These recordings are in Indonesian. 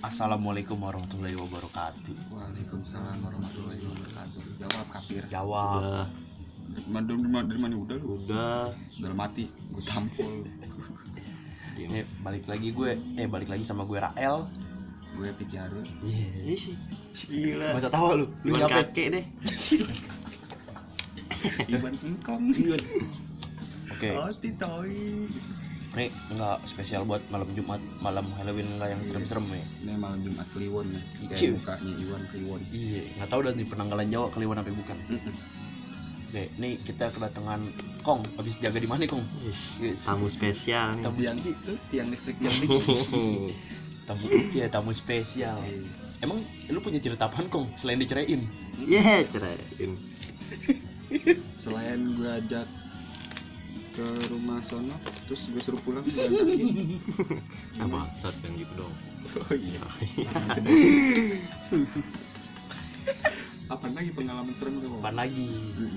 Assalamualaikum warahmatullahi wabarakatuh. Waalaikumsalam warahmatullahi wabarakatuh. Jawab kafir. Jawab. Dari mana udah lu? Udah. Udah mati. Gue tampol. Balik lagi sama gue Rael. Gue Piki Arun. Gila. Masa tawa lu? Lu nyampe kakek deh. Iban engkong. Oke. Oh, titoi. Nih enggak spesial buat malam Jumat, malam Halloween enggak yang serem-serem ya. Ini malam Jumat Kliwon ya. Ciu. Kayak mukanya Iwan Kliwon. Iya, enggak tahu dah di penanggalan Jawa Kliwon apa bukan. Oke, nih kita kedatangan Kong. Habis jaga di mana, Kong? Yes. Tamu spesial nih. Tamu yang itu, tiang listrik. Tamu spesial. Emang lu punya cerita apaan, Kong? Selain diceraiin? Iya, ceraiin. Selain gue ajak ke rumah sono, terus gue suruh pulang jalan kaki. Apa? Saat kan gitu dong. Oh iya. Apaan lagi pengalaman serem lu? Apaan lagi?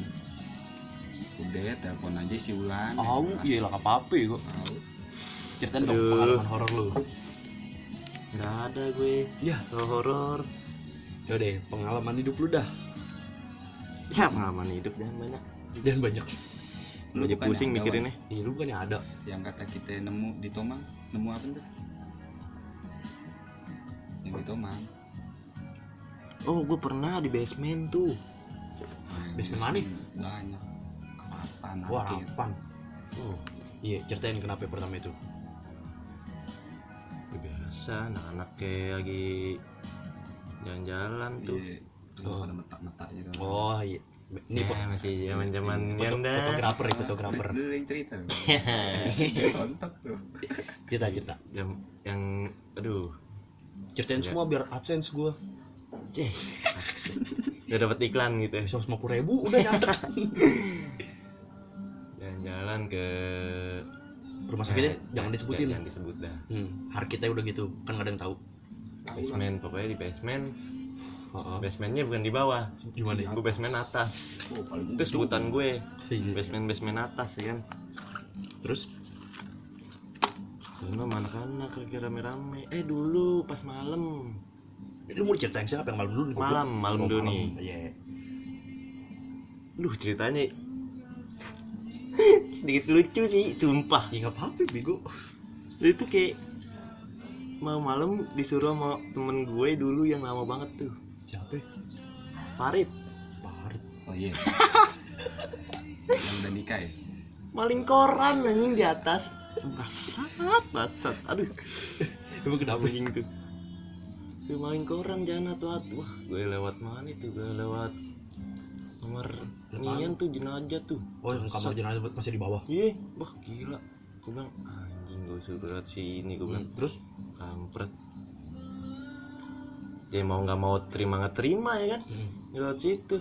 Udah telepon aja si Ulan. Iya lah apa-apa kok. Tahu. Ceritain dong pengalaman horor lu. Enggak ada gue. Ya, horor. Yaudah, pengalaman hidup lu dah. Ya, pengalaman hidup jangan banyak. Dan banyak. Lu aja pusing mikirinnya. Iya, lu bukannya ada. Yang kata kita nemu di Tomang, nemu apa tuh? Yang di Tomang. Oh, gue pernah di basement tuh. Basement mana? Banyak. Apaan? Wah, apaan? Oh, iya, ceritain kenapa pertama itu. Biasa, anak-anak kayak lagi jalan-jalan tuh. Tuh ada metak-metak gitu. Oh, iya. Ini masih zaman-zaman ganda. Fotografer. Lu yang cerita. Kontak tuh. Cerita. Yang aduh. Ceritain semua biar AdSense gua. Udah dapat iklan gitu ya. 150.000 udah nyampe. Jalan-jalan ke Rumah sakitnya jangan disebutin. Jangan disebut dah. Harkitnya udah gitu, kan enggak ada yang tahu. Basement, pokoknya di basement. Basementnya bukan di bawah. Gimana? Gue basement atas. Itu sebutan gue. Basement atas ya kan. Terus sama anak-anak lagi rame-rame. Dulu pas malam. Lu mau ceritain siapa yang malam dulu nih? Malam dulu nih. Iya. Lu ceritanya sedikit lucu sih, sumpah. Ya enggak apa-apa, bego. Lu itu kayak malam disuruh sama temen gue dulu yang lama banget tuh. Siapa? Farid. Oh iya. Yang udah nikah ya? Maling koran anjing di atas. Basat. Aduh. Emang kenapa anjing tuh? Tuh maling koran jangan atu-atu. Wah, gue lewat mana itu? Gue lewat kamar nian tuh jenazah tuh. Oh, yang kamar jenazah masih di bawah. Iya, wah gila. Gue bilang anjing gue suruh lewat sini gue bilang. Terus kampret. Dia mau nggak mau terima ya kan? Lewat situ.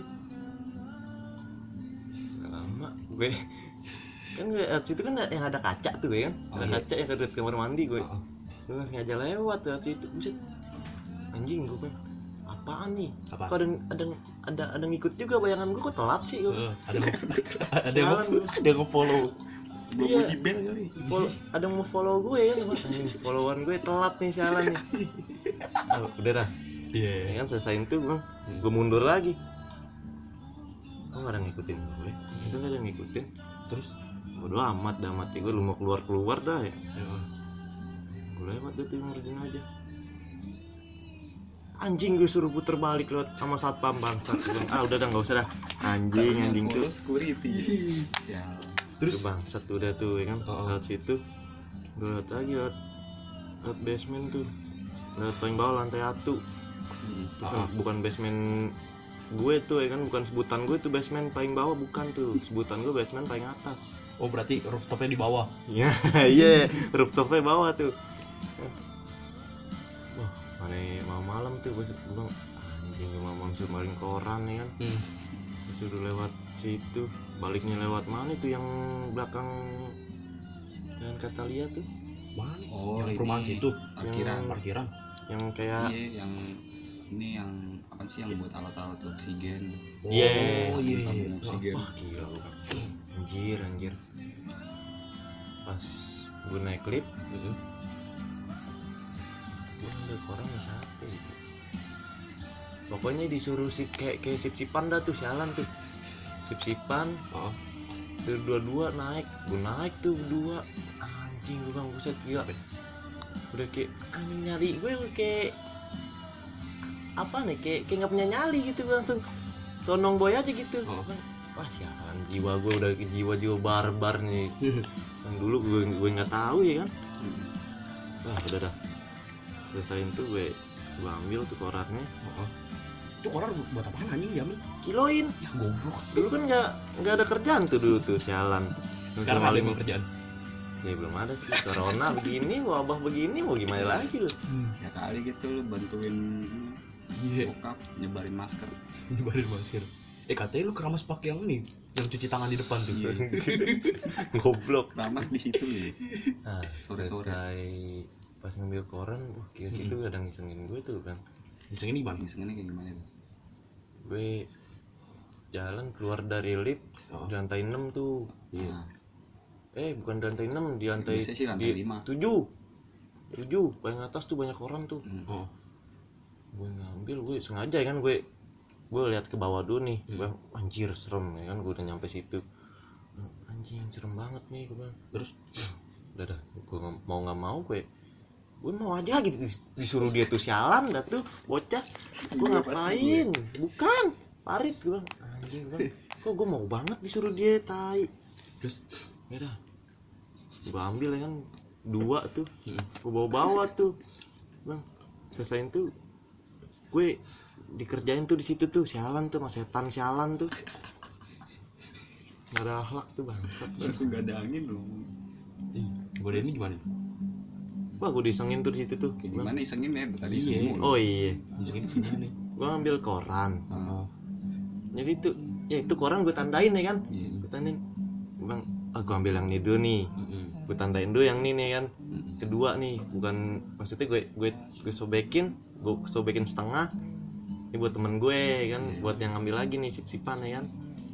Lama gue kan lewat situ kan yang ada kaca tuh ya kan? Ada kaca yang dekat kamar mandi gue. Gue langsung aja lewat situ. Buset. Anjing gue bilang, apaan nih? Kok ada ngikut juga bayangan gue kok telat sih gue. Ada yang nge-follow. Gue mau di band kali. Ada yang mau follow gue kan? Anjing, followan gue telat nih sialan nih. Udah dah. Iya. Kan selesain tuh gue mundur lagi. Kok nggak ada ngikutin gue? Masa nggak ada ngikutin? Terus bodo amat dah mati gue lu mau keluar dah ya. Gue lewat tuh ngerjain aja. Anjing gue suruh puter balik lewat sama satpam bangsat. Udah dah enggak usah dah. Anjing tuh security. Ya. Terus bangsat udah tuh ya kan. Lewat situ. Gue lewat lagi lewat basement tuh. Lewat paling bawah lantai 1. Itu kan bukan basement gue tuh ya kan, bukan sebutan gue tuh basement paling bawah, bukan tuh. Sebutan gue basement paling atas. Oh, berarti rooftopnya di bawah. Iya, rooftopnya bawah tuh. Wah, mana mau malam tuh gue bilang anjing gue mau suruh maling koran ya kan. Suruh lewat situ, baliknya lewat mana tuh yang belakang Jalan Katalia tuh. Mana? Oh, yang perumahan situ. Parkiran. Yang kayak yang ini yang apa sih yang buat alat-alat oksigen. Iya. Oksigen. Wah, gila. Anjir. Pas gue naik lift gue ngambil koran sama siapa gitu. Pokoknya disuruh kayak sip-sipan dah tuh, sialan tuh. Sip-sipan. Suruh dua-dua naik. Gue naik tuh berdua. Anjing gue bang, buset gila. Udah kayak anjing nyari gue kayak apa nih, kayak nggak punya nyali gitu, gue langsung sonong boy aja gitu. Wah sialan, jiwa gue udah jiwa barbar nih. Yang dulu gue nggak tahu ya kan. Wah udah dah, selesain tuh gue ambil tuh korannya. Itu koran buat apaan anjing diambil? Kiloin. Ya goblok. Dulu kan nggak ada kerjaan tuh dulu tuh, sialan. Sekarang ada yang kerjaan? Ya belum ada sih, corona begini, wabah begini, mau gimana lagi lu? Ya kali gitu lu bantuin bokap nyebarin masker. Nyebarin masker. Katanya lu keramas pakai yang ini, yang cuci tangan di depan tuh. Goblok. Keramas di situ lu. Nah, sore-sore pas ngambil koran, wah kira situ kadang ngisengin gue tuh kan. Ngisengin gimana? Ngisengin kayak gimana tuh? Gue jalan keluar dari lift di lantai 6 tuh. Bukan di lantai 6, di lantai, sih lantai 5. 7 paling atas tuh banyak orang tuh. Gue ngambil, gue sengaja kan, gue lihat ke bawah dulu nih. Gue anjir serem ya kan, gue udah nyampe situ. Anjing serem banget nih gue bilang. Terus udah gue mau nggak mau gue mau aja gitu, disuruh dia tuh sialan dah tuh bocah. Gue ngapain? Bukan parit, gue bilang anjing bang, kok gue mau banget disuruh dia tai. Terus ya dah, gue ambil ya kan 2 tuh, gue bawa tuh bang. Selesain tuh gue dikerjain tuh di situ tuh, sialan tuh, mas setan sialan tuh. Nggak ada akhlak tuh bangsat. Langsung gak ada angin dong. Gue ini gimana? Wah gue disengin tuh di situ tuh. Kayak gimana isengin ya? Tadi isengin. Oh iya. Disengin gimana? Gue ambil koran. Jadi tuh, ya itu koran gue tandain ya kan. Gue tandain. Gue bilang, gue ambil yang ini dulu nih. Gue tandain dulu yang ini nih kan. Kedua nih, bukan maksudnya gue sobekin setengah. Ini buat temen gue kan, buat yang ngambil lagi nih sip-sipan ya kan.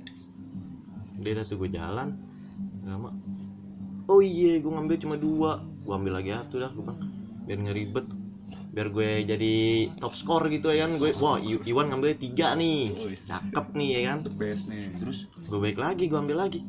Dia dah tuh gue jalan lama. Oh iya, gue ngambil cuma 2. Gue ambil lagi satu dah, gue bang, biar ngeribet, biar gue jadi top score gitu ya kan. Gue wah Iwan ngambil 3 nih, cakep nih ya kan. The best nih. Terus gue balik lagi, gue ambil lagi.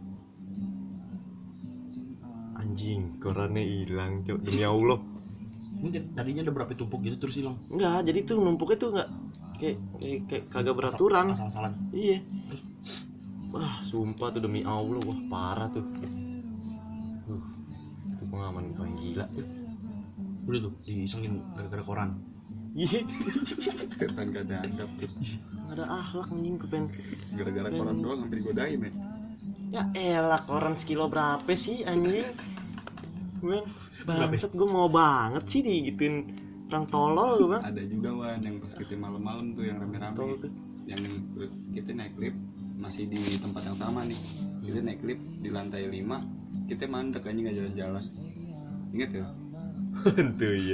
Anjing, korannya hilang cok, demi Allah. Mungkin tadinya ada berapa tumpuk gitu terus hilang. Enggak, jadi tuh numpuknya tuh enggak kayak kagak beraturan. Asal-asalan. Iya. Wah, sumpah tuh demi Allah, wah parah tuh. Itu pengalaman paling gila tuh. Udah tuh disengin gara-gara koran. Iya. Setan gak ada adab tuh. Enggak ada akhlak anjing, kepen. Gara-gara koran doang sampai digodain ya. Ya elah, koran sekilo berapa sih anjing? Gue bangsat, gue mau banget sih digituin orang tolol gue bang. Ada juga Wan yang pas kita malam-malam tuh yang rame-rame tuh. Yang kita naik lift masih di tempat yang sama nih. Kita naik lift di lantai 5, kita mandek aja nggak jalan-jalan. Ingat ya? Tuh iya.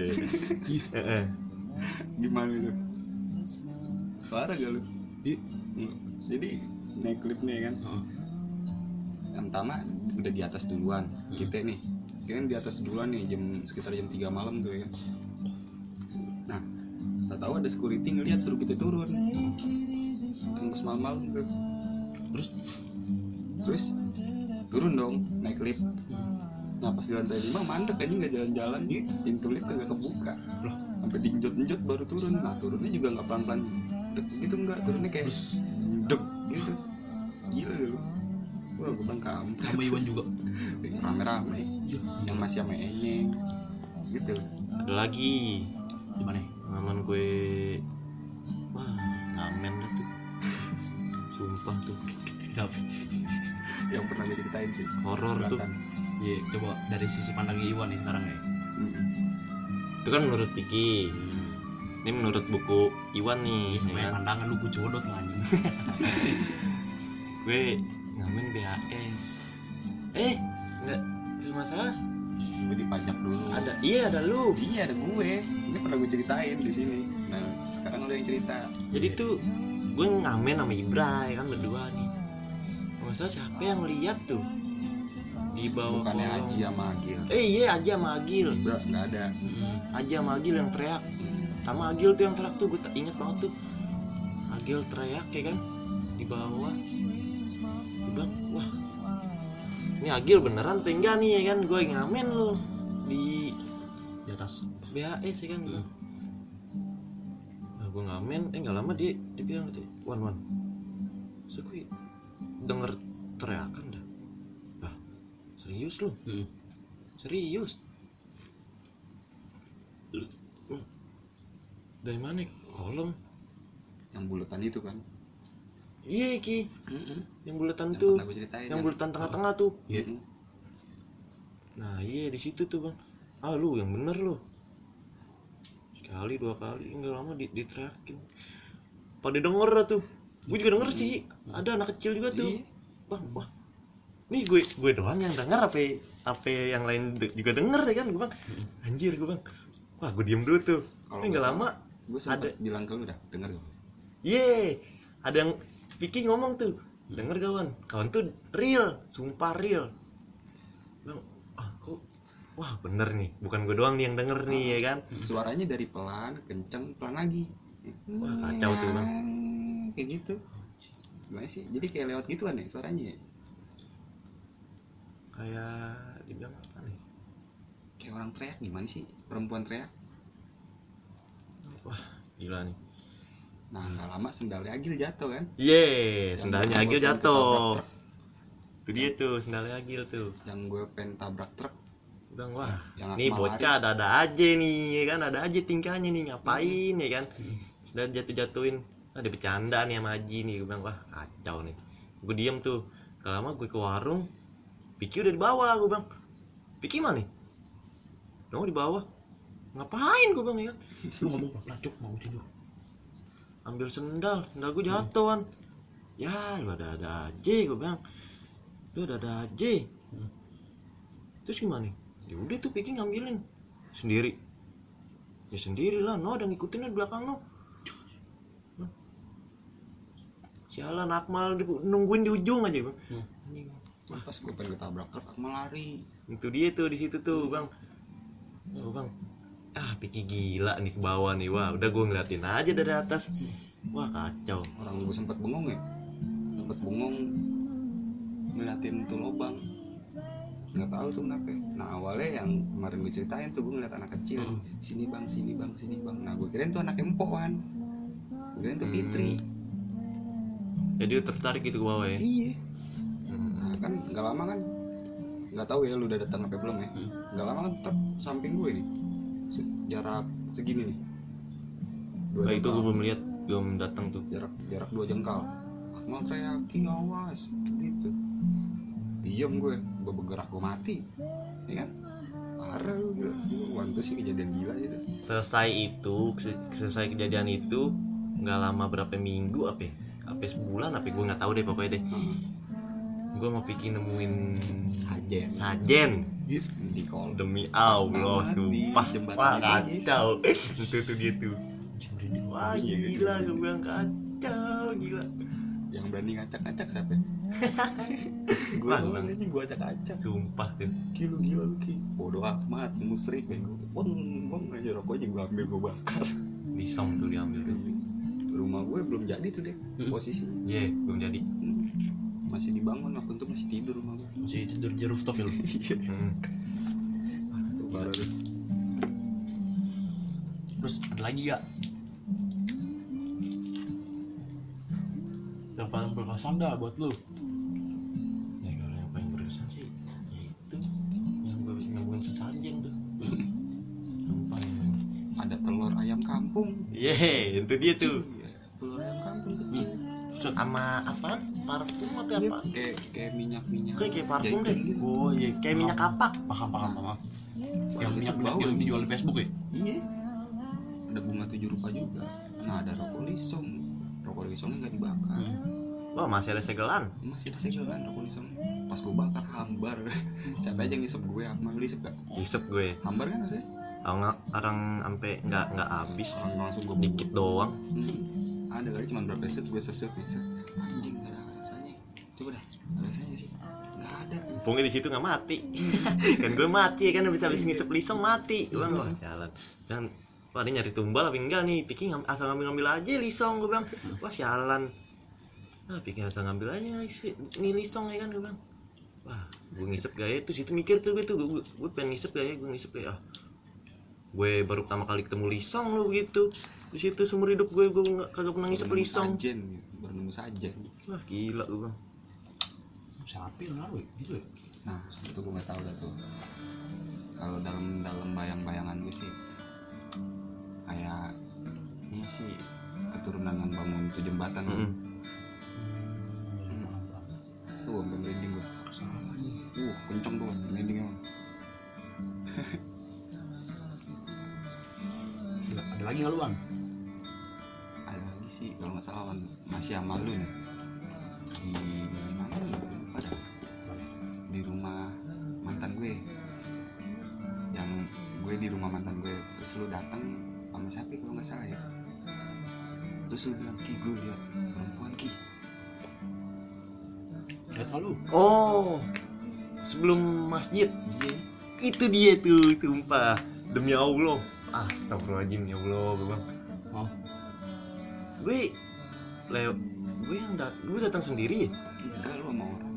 Gimana itu? Parah gak lu? Jadi naik lift nih kan. Yang pertama udah di atas duluan. Kita nih kirain di atas duluan nih, sekitar jam 3 malam tuh ya. Nah, tak tahu ada security ngelihat suruh kita turun. Pas malam-malam tuh. Terus turun dong, naik lift. Nah, pas di lantai 5 mandek aja nggak jalan-jalan, pintu lift kagak kebuka. Sampai diinjot-injot baru turun. Nah, turunnya juga nggak pelan-pelan gitu, nggak, turunnya kayak deg gitu. Gila lu. Wah, gue bilang kampret. Sama Iwan juga. Rame-rame. Yang masih sama Enyeng gitu. Ada lagi. Gimana? Pengalaman gue, wah ngamen dah tuh. Sumpah tuh. Kenapa? Yang pernah gue ceritain sih. Horor tuh. Iya, coba dari sisi pandang Iwan nih sekarang ya. Itu kan menurut Piki. Ini menurut buku Iwan nih. Sebenarnya pandangan lu gue codot anjing. Gue ngamen BAS. Enggak, terus masalah. Gue dipajak dulu. Ada lu. Iya, ada gue. Ini pernah gue ceritain di sini. Nah, sekarang lu yang cerita. Jadi tuh gue ngamen sama Ibra ya kan, berdua nih. Masalah siapa yang lihat tuh? di bawah bukannya kolong. Aji sama Agil. Iya Aji sama Agil. Nggak ada. Aji sama Agil yang teriak. Sama Agil tuh yang teriak tuh, gue inget banget tuh. Agil teriak ya kan di bawah. Gue bilang, wah ini Agil beneran apa enggak nih ya kan, gue ngamen loh di atas BHS ya kan. Nah, gue ngamen, nggak lama dia bilang gitu, Wan, so gue denger teriakan dah. Lah, serius lu? Serius? Dari mana? Kolong. Yang bulatan itu kan. Iya Ki, yang bulatan Yang tuh, pernah gue ceritain yang kan? bulatan tengah-tengah tuh. Mm-mm. Nah iya di situ tuh bang. Ah lu yang bener lu. Sekali 2 kali nggak lama diteriakin. Pada denger dah tuh. Gue juga denger sih. Ada anak kecil juga tuh. Iya. Bang, wah. Nih gue doang yang denger apa yang lain juga denger ya kan gue bang. Anjir gue bang. Wah gue diem dulu tuh. Kalau Nggak lama. gue ada- sempat bilang ke lu dah, denger gak? Ye, ada yang Vicky ngomong tuh, denger kawan tuh real, sumpah real. Bang, wah bener nih, bukan gue doang nih yang denger nih ya kan. Suaranya dari pelan, kenceng, pelan lagi. Wah, kacau tuh, Bang. Kayak gitu. Gimana sih? Jadi kayak lewat gituan ya suaranya ya? Kayak dibilang apa nih? Kayak orang teriak gimana sih? Perempuan teriak. Wah, gila nih. Nah, nggak lama sendalnya Agil jatuh kan? Ye, Yang sendalnya gue Agil pengen jatuh. ketabrak truk. Itu dia tuh, sendalnya Agil tuh. Yang gue pengen tabrak truk. Bang, wah, Yang nih Akmal bocah ada aja nih, ya kan? Ada aja tingkahnya nih, ngapain ya kan? Sudah jatuh-jatuhin, ada bercanda nih sama Haji nih, gue bilang, wah kacau nih. Gue diem tuh, gak lama gue ke warung, Piki udah di bawah, gue bilang, Piki mana nih? Nongol di bawah, ngapain gue bilang ya kan? lu ngomong lah cuk mau tidur. Ambil sendal gue jatuhan. Ya lu ada aja, gue bilang, lu ada aja. Terus gimana? Ya udah tuh Piki ngambilin sendiri. Ya sendiri lah, no ada ngikutin di belakang no. Sialan Akmal nungguin di ujung aja bang. Anjing. Pas gue pengen ketabrak truk, Akmal lari. Itu dia tuh di situ tuh bang. Oh bang, Piki gila nih ke bawah nih. Wah udah gue ngeliatin aja dari atas. Wah kacau. Orang gue sempet bengong ya. Sempet bengong ngeliatin tuh lubang. Nggak tahu tuh kenapa. Nah awalnya yang kemarin gue ceritain tuh gue ngeliat anak kecil. Sini bang. Nah gue kirain tuh anak empok kan. Gue kirain tuh Fitri. Jadi tertarik gitu ke bawah ya. Iya. Nah kan nggak lama kan. Nggak tahu ya lu udah datang apa belum ya. Nggak lama kan truk samping gue nih. Jarak segini nih. Nah itu gue belum lihat, belum datang tuh. Jarak 2 jengkal. Akmal teriakin awas gitu. Diam gue bergerak gue mati. Ya kan? Parah gue. Wantu sih kejadian gila itu. Selesai kejadian itu nggak lama berapa minggu apa sebulan gue nggak tahu deh pokoknya deh. Gue mau bikin nemuin sajen Di kol. demi Allah Pas di sumpah jembatan wah itu. kacau itu tuh dia tuh wah gila gue bilang kacau gila. Yang berani ngacak-ngacak siapa? Gue Wah, doang aja gue acak-acak. sumpah tuh Gila lu Ki. Bodoh amat, musrik bego. Bong aja rokoknya gue ambil gue bakar. disong tuh diambil tuh. Rumah gue belum jadi tuh deh posisinya. Belum jadi. Masih dibangun waktu itu masih tidur rumah gue. Masih tidur di rooftop ya lu. Tuh parah tuh. Terus ada lagi gak yang paling berkesan dah buat lu? Ya kalau yang paling berkesan sih ya itu yang gue nemuin sesajen tuh. Sumpah emang. Ada telur ayam kampung. Itu dia tuh. Iya, telur ayam kampung kecil. Sama apa? Parfum apa Iya, apa? kayak minyak-minyak. Kayak parfum deh. Jahitan gitu. Oh iya, kayak minyak kapak. Paham. Yang Ada minyak bau yang lagi. dijual di Facebook ya? Iya. Ada bunga 7 rupa juga. Nah, ada rokok lisong. Rokok lisongnya nggak dibakar. Wah, masih ada segelan. Masih ada segelan rokok lisong. Pas gue bakar hambar. Siapa aja yang ngisep gue? Akmal ngisep gak? Isep gue. Hambar kan maksudnya? Orang sampai nggak habis. Orang langsung gue Dikit doang. Ada kali cuma berapa set gue sesut nih. Anjing gak ada rasanya. Coba dah. Ada rasanya sih? Nggak ada. pokoknya di situ nggak mati. Kan gue mati kan habis ngisep lisong mati. Gue bilang wah jalan. Dan wah ini nyari tumbal apa enggak nih? Piki asal ngambil aja lisong, gue bilang. Wah sialan. Nah Piki asal ngambil aja nih lisong ya kan, gue bilang. Wah gue ngisep gaya tuh situ mikir tuh gue pengen ngisep gaya, gue ngisep gaya. Gue baru pertama kali ketemu lisong lo begitu. Di situ seumur hidup gue kagak pernah ngisep lisong. Baru nemu saja. Wah gila gue bilang. Siapa yang naruh gitu ya? Nah itu gue nggak tahu dah tuh. Kalau dalam bayang-bayangan gue sih kayak ini sih keturunan yang bangun itu jembatan. Tuh sampai merinding gue. Kenceng tuh merinding emang. Ada lagi nggak lu bang? Ada lagi sih kalau nggak salah Wan. Masih sama lu nih di mana nih pada di rumah mantan gue, yang gue di rumah mantan gue, terus lu datang sama siapa kalau nggak salah ya, terus lu bilang Ki gue lihat perempuan Ki. Nggak tahu lu. Oh sebelum masjid. Iya. Itu dia tuh sumpah demi Allah. Astagfirullahaladzim ya Allah gue bilang. Oh. Gue datang sendiri ya? Enggak, lu sama orang.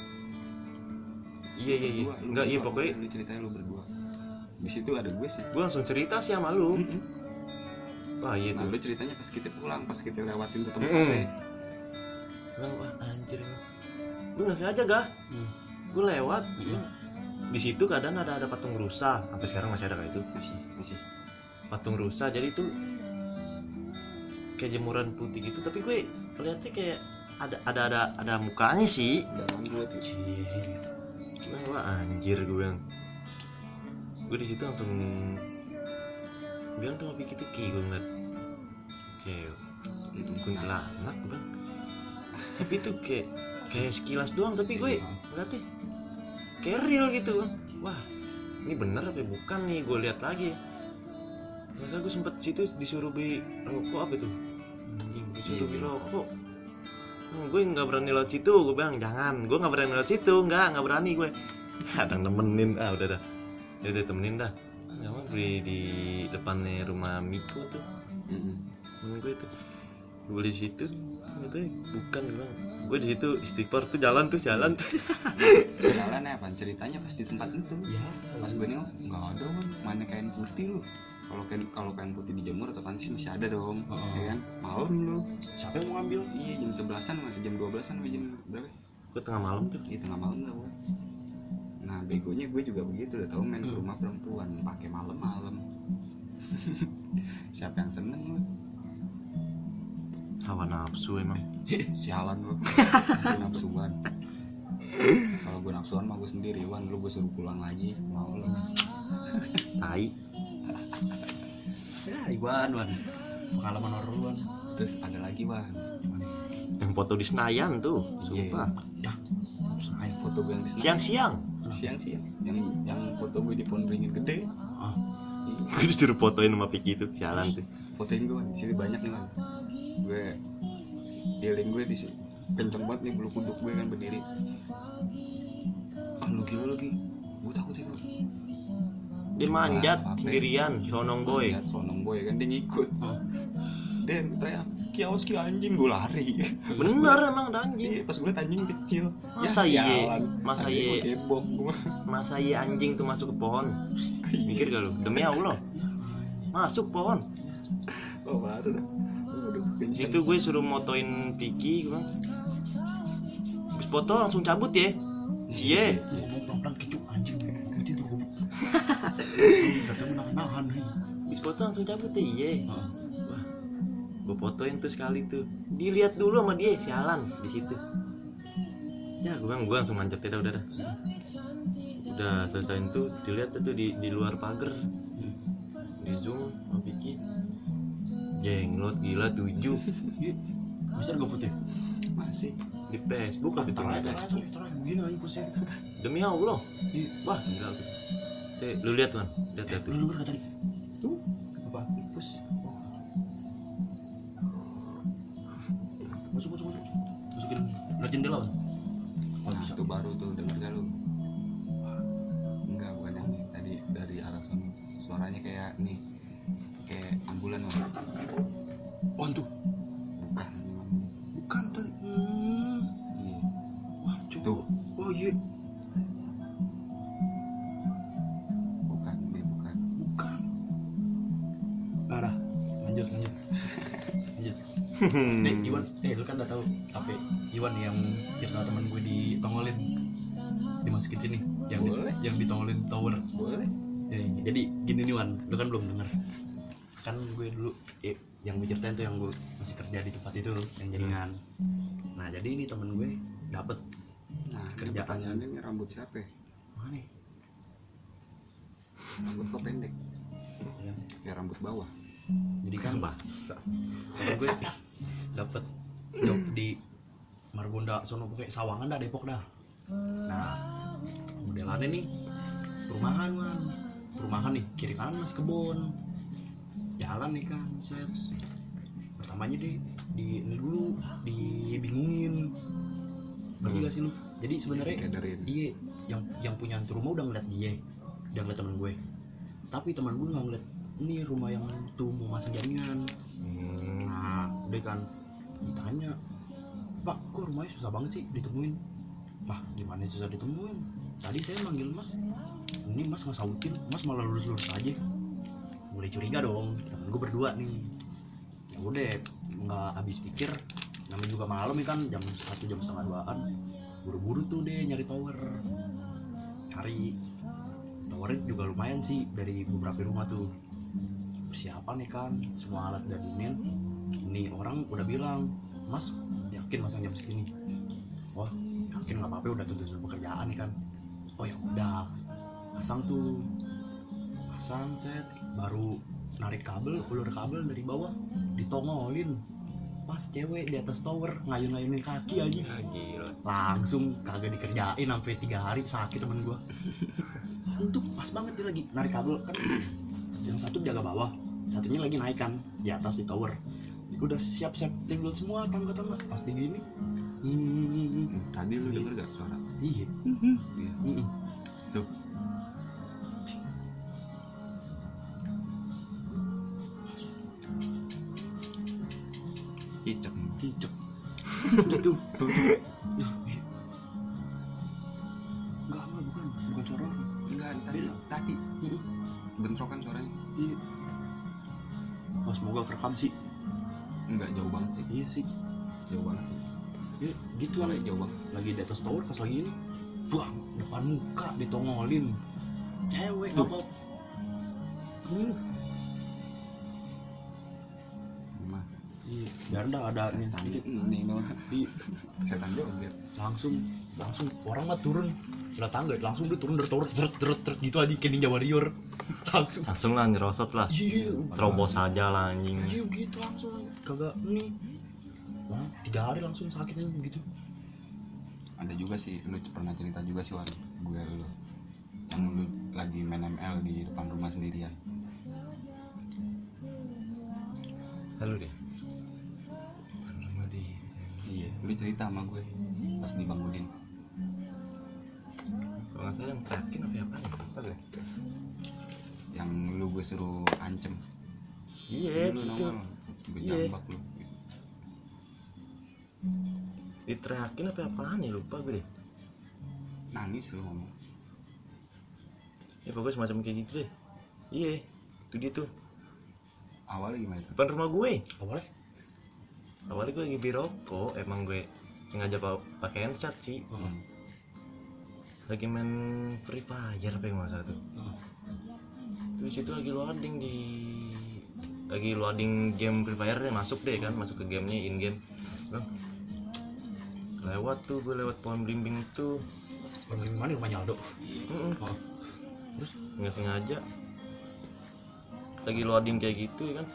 Iya. Enggak, iya pokoknya lu ceritain lu berdua. Di situ ada gue sih. gue langsung cerita sih sama lu. Wah iya Nah, tuh. lu ceritanya pas kita pulang, pas kita lewatin tuh tempatnya. Bilang wah anjir. Gue nggak sengaja gak? Gue lewat. Di situ keadaan ada patung rusa. Sampai sekarang masih ada kayak itu. Masih. Patung rusa. Jadi itu kayak jemuran putih gitu. Tapi gue lihatnya kayak ada mukanya sih. Dalam gue tuh. Gimana wah anjir gue bilang. Gue di situ langsung bilang tuh sama Piki tuh Ki gue ngeliat kayak kuntilanak gue bilang. Tapi itu kayak sekilas doang, tapi gue ngeliatnya kayak real gitu bang. Wah ini bener apa bukan nih, gue lihat lagi. Masa gue sempet situ disuruh beli rokok apa itu, disuruh beli rokok. Gue nggak berani lewat situ, gue bilang jangan, gue nggak berani lewat situ, nggak berani gue. Kadang nemenin, udah temenin dah. Jangan beli di depannya rumah Miko tuh, temen gue tuh. Gue di situ, itu bukan bang. Gue di situ istighfar tuh jalan tuh. Jalan apa? Ceritanya pas di tempat itu. Ya. Pas gue nengok nggak ada bang, mana kain putih lu. Kalau kain putih dijemur atau sih masih ada dong, ya kan? Malam lu. Siapa yang mau ngambil? Iya jam 11-an, jam 12-an, jam berapa? Gue tengah malam tuh. Iya tengah malam lah gue. Nah begonya gue juga begitu, udah tahu main ke rumah perempuan pakai malam-malam. Siapa yang seneng lu? Hawa nafsu emang. Sialan lu. Gue nafsuan. Kalau gue nafsuan mah gue sendiri, Wan. Lu gue suruh pulang lagi, mau lu. Tai. Ya Iwan. Pengalaman horor Wan. Terus ada lagi Wan. Yang foto di Senayan tuh, sumpah. Ya. Saya Foto gue yang di Senayan. Siang. Yang foto gue di pohon beringin gede. Gue disuruh fotoin sama Piki itu, sialan tuh. Fotoin gue Wan. Di sini banyak nih Wan. Gue feeling gue di sini kenceng banget nih, bulu kuduk gue kan berdiri. Lu gila lagi. Gue takut itu. Dia manjat sendirian, sonong boy. Manjat sonong boy kan, dia ngikut. Dia teriak kios anjing, gue lari. Bener emang ada anjing. Iya, pas gue liat anjing kecil. Masa iya? Masa iya anjing tuh masuk ke pohon? Mikir gak lu? Demi Allah. Masuk pohon. Oh baru dah. Itu gue suruh motoin Piki, gue bilang. Habis foto langsung cabut ya. Iya. ngomong pelan-pelan kecut anjing. Itu tuh goblok. Datang nahan. Habis foto langsung cabut ya. Iya. Wah. Gue fotoin tuh sekali tuh. Dilihat dulu sama dia, sialan di situ. Ya, gue langsung manjat ya udah. Udah selesaiin tuh, dilihat tuh di luar pagar. Di zoom sama Piki. Jenglot gila 7. Bisa gak foto? Masih Di Facebook apa itu? Terus begini aja pusing. Demi Allah. Wah gila. Lu lihat kan? Lihat tuh. Lu denger kata tadi? Tuh. Apa? Pus. Masuk. Masukin lihat jendela kan? nah, itu baru tuh denger gak lu? suaranya kayak nih, kayak ambulan loh. Oh tuh, Bukan. bukan tadi. Iya. Wah, coba. Tuh. Oh iya, Bukan, dia bukan. bukan. Nah, dah. Lanjut. Nih, Iwan, lu kan udah tahu apa Iwan yang cerita teman gue ditongolin, dimasukin sini, Boleh. yang ditongolin tower. Boleh. Jadi gini nih Wan, lu kan belum denger. Kan gue dulu yang gue ceritain tuh yang gue masih kerja di tempat itu yang jaringan. Nah jadi ini temen gue dapet Nah, Kerjaan. pertanyaannya ini rambut siapa ya? mana? Rambut kok pendek? Ya, Kayak rambut bawah. jadi kan temen gue dapet job di Margonda sono, pokoknya Sawangan dah, Depok dah. Nah modelannya nih perumahan nih, kiri kanan masih kebun, jalan nih kan, set. Pertamanya deh di ini dulu dibingungin, ngerti gak sih lu? Jadi sebenarnya Dikaderin. iya, yang punya rumah udah ngeliat dia, udah ngeliat teman gue, tapi teman gue nggak ngeliat ini rumah yang tuh mau masang jaringan. Nah udah kan ditanya, Pak kok rumahnya susah banget sih ditemuin? Lah gimana susah ditemuin, tadi saya manggil Mas, ini Mas nggak sautin, Mas malah lurus aja. Mulai curiga dong, temen gue berdua nih. Ya udah nggak habis pikir, namanya juga malam ya kan, jam 1 jam setengah 2an, buru-buru tuh deh nyari tower. Cari towernya juga lumayan sih, dari beberapa rumah tuh. Persiapan nih kan, semua alat udah dinin. Ini orang udah bilang, Mas yakin masang jam segini? Wah yakin, nggak apa-apa, udah tuntut pekerjaan nih kan. Oh ya udah, pasang set, baru narik ulur kabel dari bawah, ditongolin. Pas cewek di atas tower ngayun-ngayunin kaki aja, Gila. langsung kagak dikerjain sampai 3 hari, sakit temen gua. Untuk pas banget dia lagi narik kabel kan, yang satu jaga bawah, satunya lagi naik kan di atas di tower. Udah siap-siap tinggal semua tangga-tangga, pas di gini. Tadi lu denger gak suara? Iya. Iya. Tuh. Cicak. Udah tuh. Tuh. Iya. Enggak, bukan suara orang. Enggak, Beda. tadi bentrokan suaranya. Iya. Wah, semoga kerekam sih. Enggak, jauh banget sih. Iya sih. Jauh banget sih. Ya, gitu Suaranya kan. jauh banget. Lagi di atas tower pas lagi ini, buang depan muka ditongolin. Cewek Tuh. apa? Ini loh. Mah. Iya, biar dah ada Setan sedikit. ini mah. Iya, Setan joget. langsung orang mah turun udah tangga, langsung dia turun dari tower, deret gitu aja kayak Ninja Warrior. Langsung lah nyerosot lah. Iya, Terobos aja lah anjing. iya gitu langsung, kagak nih. Wah, 3 hari langsung sakitnya begitu. Ada juga sih, lu pernah cerita juga sih Wan, gue lu yang lu lagi main ML di depan rumah sendirian. Halo deh. Rumah di. Iya, lu cerita sama gue pas dibangunin. Kalau nggak salah yang terakhir apa ya? Yang lu gue suruh ancem. Iya. Lu nongol, gue Iya. jambak lu. Diteriakin apa apaan ya, lupa gue deh. Nangis lu ngomong. Ya pokoknya semacam kayak gitu deh. Iya, itu dia tuh. Awalnya gimana itu? Depan rumah gue. Boleh? Awalnya gue lagi beli rokok, emang gue sengaja pakai handset sih. Lagi main Free Fire apa yang masa tuh. Terus itu lagi loading game Free Fire deh, masuk ke gamenya in game. Lewat tuh gue lewat pohon belimbing itu. Orang mana rumahnya Aldo? Oh. Terus nggak sengaja lagi loading kayak gitu ya kan,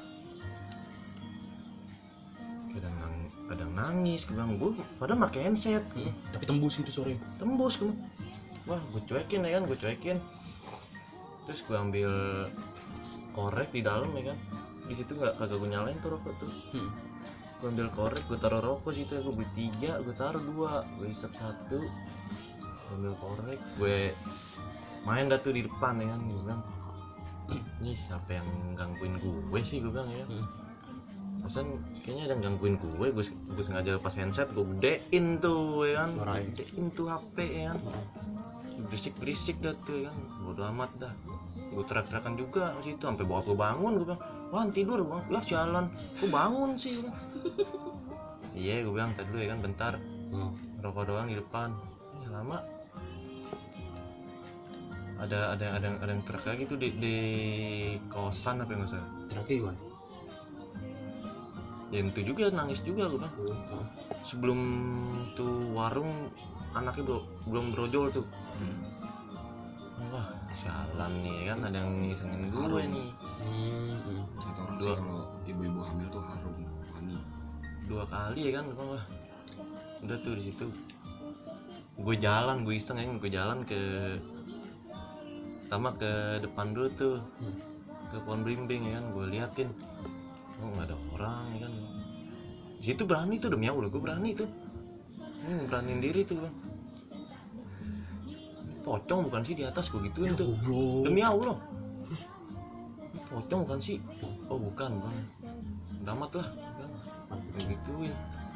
kadang nangis, gue bilang gue padahal pakai handset, Tapi tembus itu sore. tembus gue. Wah gue cuekin ya kan, terus gue ambil korek di dalam ya kan, di situ kagak gue nyalain tuh rokok tuh. Gue ambil korek, gue taruh rokok situ, gue beli 3, gue taruh 2, gue hisap 1, gue ambil korek, gue main dah tuh di depan ya kan. Gue bilang ini siapa yang gangguin gue sih, gue bilang ya. Maksudnya kayaknya ada yang gangguin gue sengaja lepas handset, gue gedein tuh ya kan, gedein tuh HP ya kan, berisik dah tuh ya kan, bodo amat dah. Gue teriak-teriakan juga di situ, sampai bokap gue bangun, gue bilang, wah tidur bang, lah jalan, gue bangun sih. Iya gue bilang tadi dulu ya kan, bentar, rokok doang di depan. Lama ada yang teriak lagi tuh di kosan apa yang nggak salah. Teriaknya gimana? Ya itu juga nangis juga gue kan. Sebelum tuh warung anaknya belum brojol tuh. Wah jalan nih kan, ada yang ngisengin gue nih. Kata orang sih kalau ibu-ibu hamil tuh harum wangi. 2 kali ya kan, wah udah tuh di situ. Gue iseng ke pertama ke depan dulu tuh, ke pohon belimbing ya kan, gue liatin, oh nggak ada orang ya kan. Di situ berani tuh, demi Allah gue berani tuh, beraniin diri tuh bang. Pocong bukan sih di atas gue gituin tuh, demi Allah. Pocong bukan sih, oh bukan bang, damat lah, gue gituin.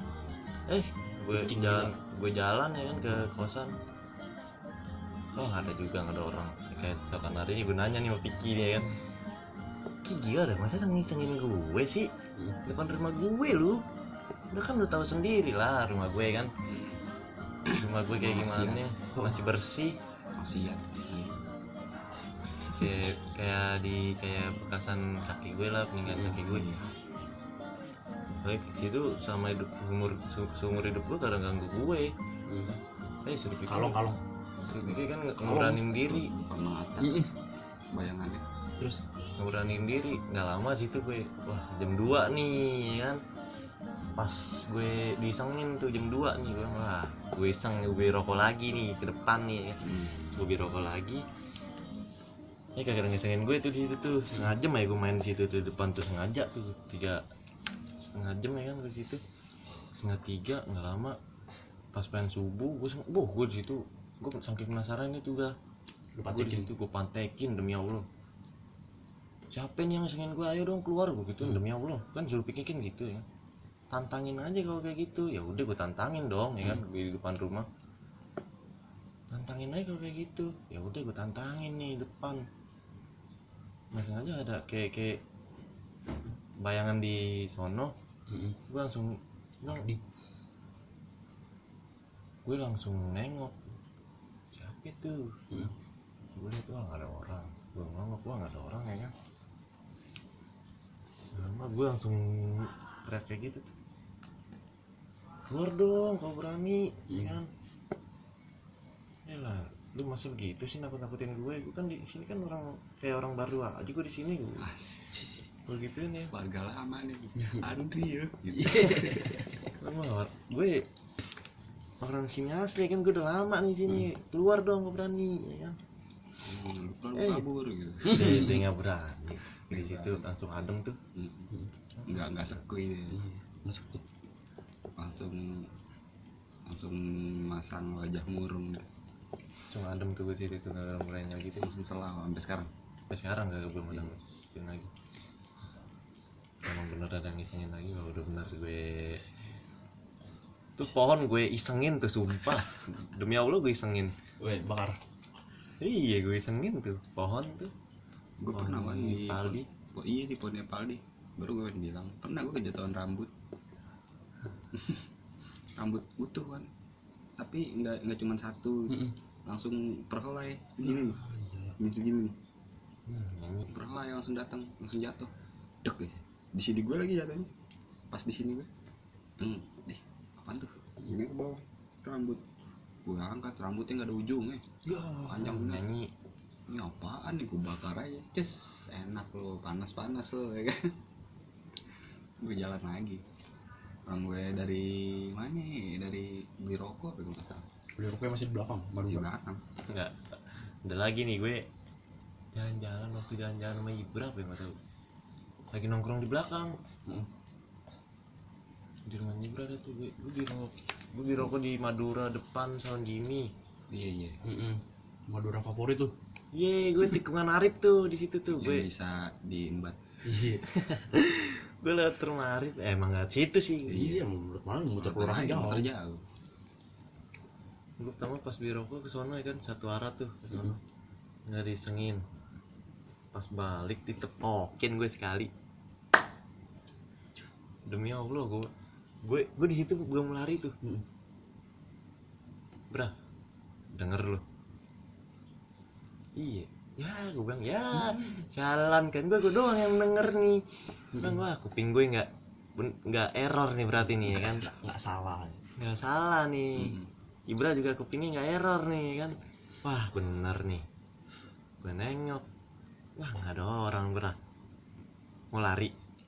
Gue jalan ya kan ke kosan. Oh nggak ada orang. Kayak seakan hari ini gue nanya nih sama Piki nih ya kan, Ki gila dah, masa ada ngisengin gue sih depan rumah gue lu. Udah tahu sendiri lah rumah gue kan, rumah gue kayak gimana, masih bersih, masih ya kayak bekasan kaki gue lah, peninggalan kaki gue. Baik itu sama seumur hidup gue kadang ganggu gue. Suruh pikir kalong kan ngeberanin diri, mata bayangannya. Terus ngeberanin diri, nggak lama situ gue, wah jam 2 nih kan, pas gue disengin tuh jam 2 nih, gue iseng gue rokok lagi nih ke depan nih ya. Gue rokok lagi, kagak ngesengin gue tuh di situ tuh, setengah jam ya gue main di situ tuh depan tuh, sengaja tuh 3,5 jam ya kan gue di situ, 2:30 nggak lama, pas pengen subuh gue di situ, gue saking penasaran itu juga, gue di situ gue pantekin demi Allah, siapa nih yang ngesengin gue, ayo dong keluar gue gitu, demi Allah kan suruh pikirin gitu ya, tantangin aja kalau kayak gitu. Ya udah gue tantangin dong ya kan, gue di depan rumah tantangin aja kalau kayak gitu. Ya udah gue tantangin nih depan, masih aja ada kayak bayangan di sono. Gue langsung nengok, siapa itu? Gue lihat wah nggak ada orang, gue nengok wah nggak ada orang ya kan. Lama gue langsung teriak kayak gitu tuh, keluar dong kalau berani ya kan. Yalah lu masa begitu sih nakut-nakutin gue kan di sini kan orang kayak orang baru aja gue di sini gue. Begitu nih warga lama nih Andri ya gitu. Gue orang sini asli kan, gue udah lama nih sini, keluar dong gue berani ya kan. Lu kabur gitu. Dia nggak berani di situ, langsung adem tuh. nggak sekui langsung masang wajah murung, langsung adem tuh gue situ tuh, nggak berani lagi tuh, langsung selalu sampai sekarang nggak belum ada lagi. Emang bener ada ngisengin lagi, udah bener gue tuh pohon gue isengin tuh, sumpah demi Allah gue isengin, gue bakar. Iya gue isengin tuh pohon tuh. Gue pernah di Paldi. Iya di pohonnya Paldi, baru gue bilang pernah gue kejatuhan rambut. Rambut utuh kan, tapi nggak cuma satu, langsung perhelai gini nih, segini nih, perhelai langsung datang, langsung jatuh, dek aja. Di sini gue lagi jatuhnya, pas di sini gue, apaan tuh? Ini ke bawah rambut, gue angkat rambutnya nggak ada ujungnya, panjang nyanyi. Ini apaan nih, gue bakar aja, enak lo, panas lo ya kan. Gue jalan lagi, orang gue dari mana ya, dari beli rokok apa gue nggak salah. Beli rokoknya masih di belakang, masih belakang. Enggak, ada lagi nih gue jalan-jalan sama Ibra apa ya nggak tahu, lagi nongkrong di belakang. Di rumah Ibra ada tuh, gue beli rokok di Madura depan Sound Jimmy. Iya. Madura favorit tuh. Gue tikungan Arif tuh di situ tuh. Yang Gue bisa diembat. Iya. gue lewat rumah Arif. Emang nggak situ sih. Iya, malah muter kelurahan jauh. Muter jauh. Gue pertama pas beli rokok ke sono ya kan, satu arah tuh ke sono. Nggak disengin. Pas balik ditepokin gue sekali. Demi Allah gue di situ gue mau lari tuh. Bra, denger lu. Iya, ya gue bilang ya jalan kan gue doang yang denger nih. Bilang wah kuping gue nggak error nih berarti nih ya kan. Nggak salah nih. Ibra juga kupingnya nggak error nih kan. Wah bener nih. Gue nengok, wah nggak ada orang Bra. Mau lari.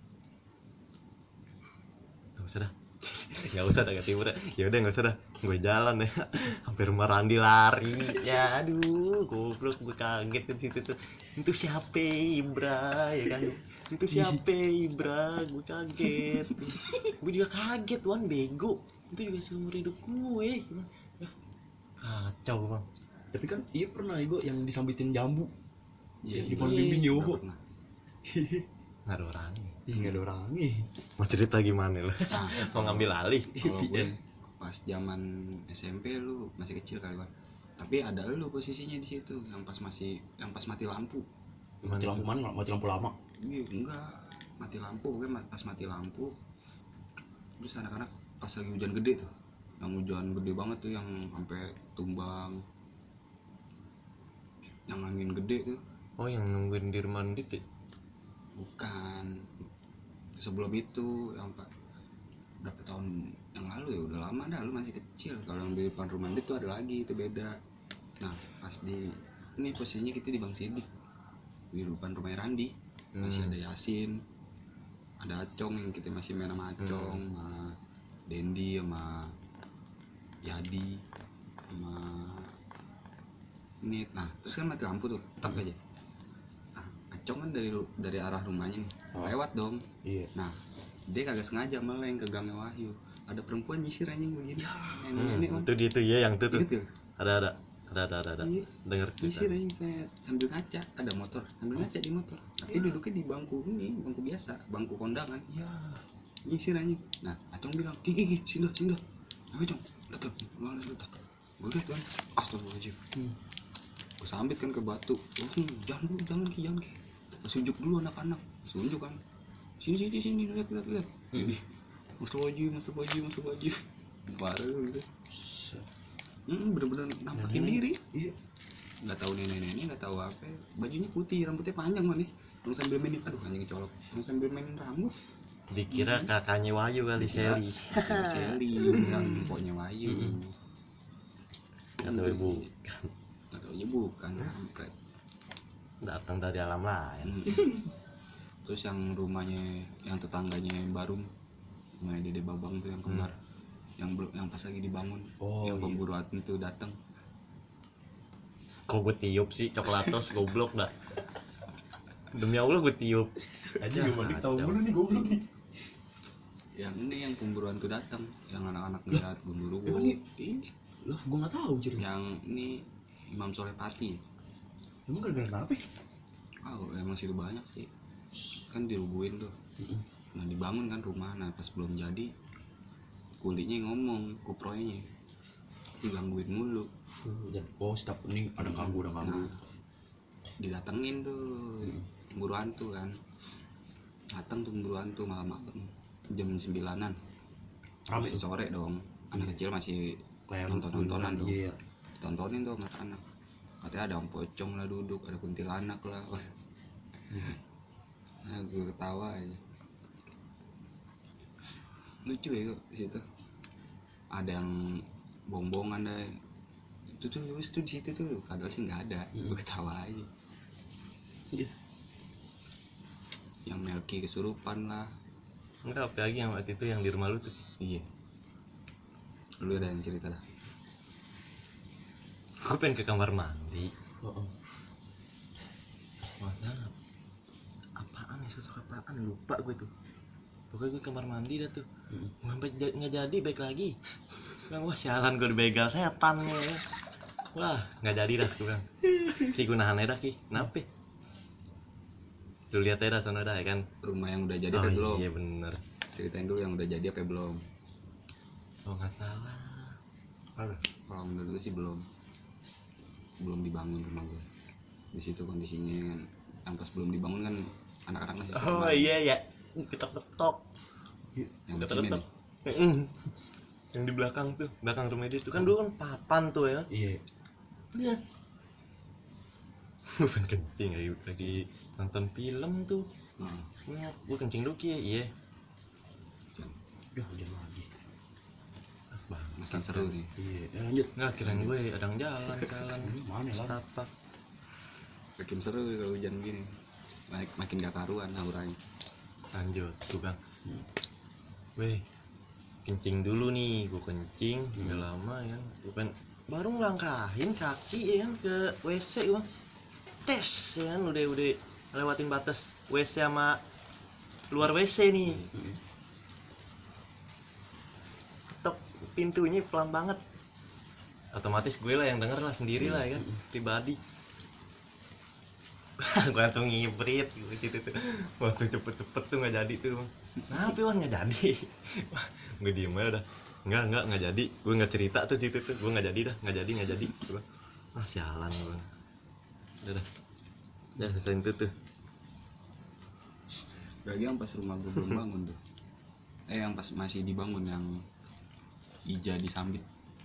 Nggak usah dah kata Ibra. Yaudah nggak usah dah, gue jalan ya. Hampir rumah Randi lari. Ya aduh, goblok gue kaget di situ tuh. Itu siapa Ibra ya kan? Itu siapa Ibra? Gue kaget. Gue juga kaget Wan, bego. Itu juga seumur hidup gue. Ya, kacau Bang. Tapi kan iya pernah Igo yang disambitin jambu. Iya, Di pohon bimbing yo. Nggak ada orangnya. Nggak ada orangnya. Mau cerita gimana lo? Nah, Mau ngambil alih? kalau gue pas zaman SMP lu masih kecil kali Wan. Tapi ada lu posisinya di situ yang pas mati lampu. Mati lampu mana? Mati lampu lama. Iya, enggak. Mati lampu, pokoknya pas mati lampu. Terus anak-anak pas lagi hujan gede tuh. Yang hujan gede banget tuh yang sampai tumbang. Yang angin gede tuh. Oh yang nungguin di rumah Ndit ya? Bukan. Sebelum itu yang berapa tahun yang lalu ya, udah lama dah, lu masih kecil. Kalau yang di depan rumah Ndit tuh ada lagi, itu beda. Nah pas ini posisinya kita di Bang Sidik, di depan rumah Randi. Masih ada Yasin, ada Acong yang kita masih main sama Acong, sama Dendi, sama Jadi, sama ini. Nah terus kan mati lampu tuh, tak aja. Nah Acong kan dari arah rumahnya nih, lewat dong. Iya. Nah dia kagak sengaja meleng ke gangnya Wahyu. Ada perempuan nyisir anjing begini. Itu dia tuh ya yang itu tuh. Gitu. Ada. Iya. Dengar Nyisir cerita. anjing, saya sambil ngaca, ada motor, sambil ngaca di motor. Tapi duduknya di bangku ini, bangku biasa, bangku kondangan. Ya. Nyisir anjing. Nah, Acong bilang, "Ki, sini dah." Apa, Cong? Datang, lawan datang. Gue lihat kan, astagfirullahaladzim. Gue sambit kan ke batu. Oh, jangan Ki. Sunjuk dulu anak-anak. Sunjuk kan. Sini, lihat. Jadi, Astagfirullahaladzim. Parah gitu. Bener-bener nampakin diri. Iya. Nggak tahu nenek, nggak tahu apa. Bajunya putih, rambutnya panjang mana? Yang sambil mainin, aduh anjing colok. Yang sambil mainin rambut. Dikira kakaknya Wahyu kali Seli. Seli, yang pokoknya Wahyu. Atau ibu Atau ya bukan, kampret. datang dari alam lain. Terus yang rumahnya, yang tetangganya baru, rumahnya Dede Babang tuh yang kembar. Yang pas lagi dibangun, yang pemburu hati itu datang. Kok gue tiup sih coklatos goblok dah. Demi Allah gue tiup. Aja gimana tahu dulu nih goblok nih. Yang ini yang pemburuan tuh datang, yang anak-anak ngeliat gunduru. Ini loh, gua nggak tahu jadi. Yang ini Imam Soleh Pati. Emang gara-gara apa? Oh, emang situ banyak sih. Kan dirubuhin tuh. Nah dibangun kan rumah, nah pas belum jadi kulitnya ngomong, kuproynya digangguin mulu. Stop ini ada ganggu. Nah, didatengin tuh pemburu hantu kan. Datang tuh pemburu hantu malam-malam jam 9-an. Masih sore dong. Anak kecil masih nonton-nontonan dong. Iya. Tontonin tuh anak-anak. Katanya ada om pocong lah duduk, ada kuntilanak lah. Nah, gue ketawa aja. Lucu ya kok di situ. Ada yang bongbongan deh. Itu di situ tuh. Padahal sih nggak ada. Gue ketawa aja. Iya. Yang Melki kesurupan lah. Enggak, apa lagi yang waktu itu yang di rumah lu tuh? Iya. Lu ada yang cerita dah. Gue pengen ke kamar mandi. Masa Apaan ya, sosok apaan? Lupa gue tuh. Pokoknya gue kamar mandi dah tuh. Sampai nggak jadi baik lagi. Bilang wah sialan gue dibegal setan ya. Wah, nggak jadi dah gue bilang. Ki gue nahan aja dah Ki. Kenapa? Lu lihat aja dah sana dah ya kan. Rumah yang udah jadi Oh apa belum? iya bener. Ceritain dulu yang udah jadi apa belum? Oh nggak salah. Aduh. Kalau menurut gue sih belum dibangun rumah gue. Di situ kondisinya kan, yang pas belum dibangun kan anak-anak masih Oh main. iya ya. Ketok-ketok. Yang Ketok-ketok. cimeng Yang di belakang tuh, belakang rumah dia itu kan dulu kan papan tuh ya. Iya. Iya. Bukan kencing lagi nonton film tuh. Nah, Gue kencing dulu Ki ya. Iya. Ya hujan lagi. makin seru nih. Iya, lanjut. Nggak kirain gue ada yang jalan. Mana lah? Tapak. Makin seru kalau hujan gini. Makin gak karuan auranya. Lanjut tuh Bang. Weh, kencing dulu nih, gue kencing nggak lama ya, bukan baru ngelangkahin kaki ya kan ke WC Bang. Tes ya kan udah lewatin batas WC sama luar WC nih. Ketok pintunya pelan banget. Otomatis gue lah yang denger lah sendiri lah ya kan, pribadi. Gue langsung ngibrit gitu tuh, langsung cepet tuh nggak jadi tuh Bang. Kenapa Wan nggak jadi? Gue diem aja udah, nggak jadi. Gue nggak cerita tuh situ tuh, gue nggak jadi dah, nggak jadi. Gue, sialan Bang. Udah selesai itu tuh. Lagi yang pas rumah gue belum bangun tuh. Yang pas masih dibangun yang Ija disambit.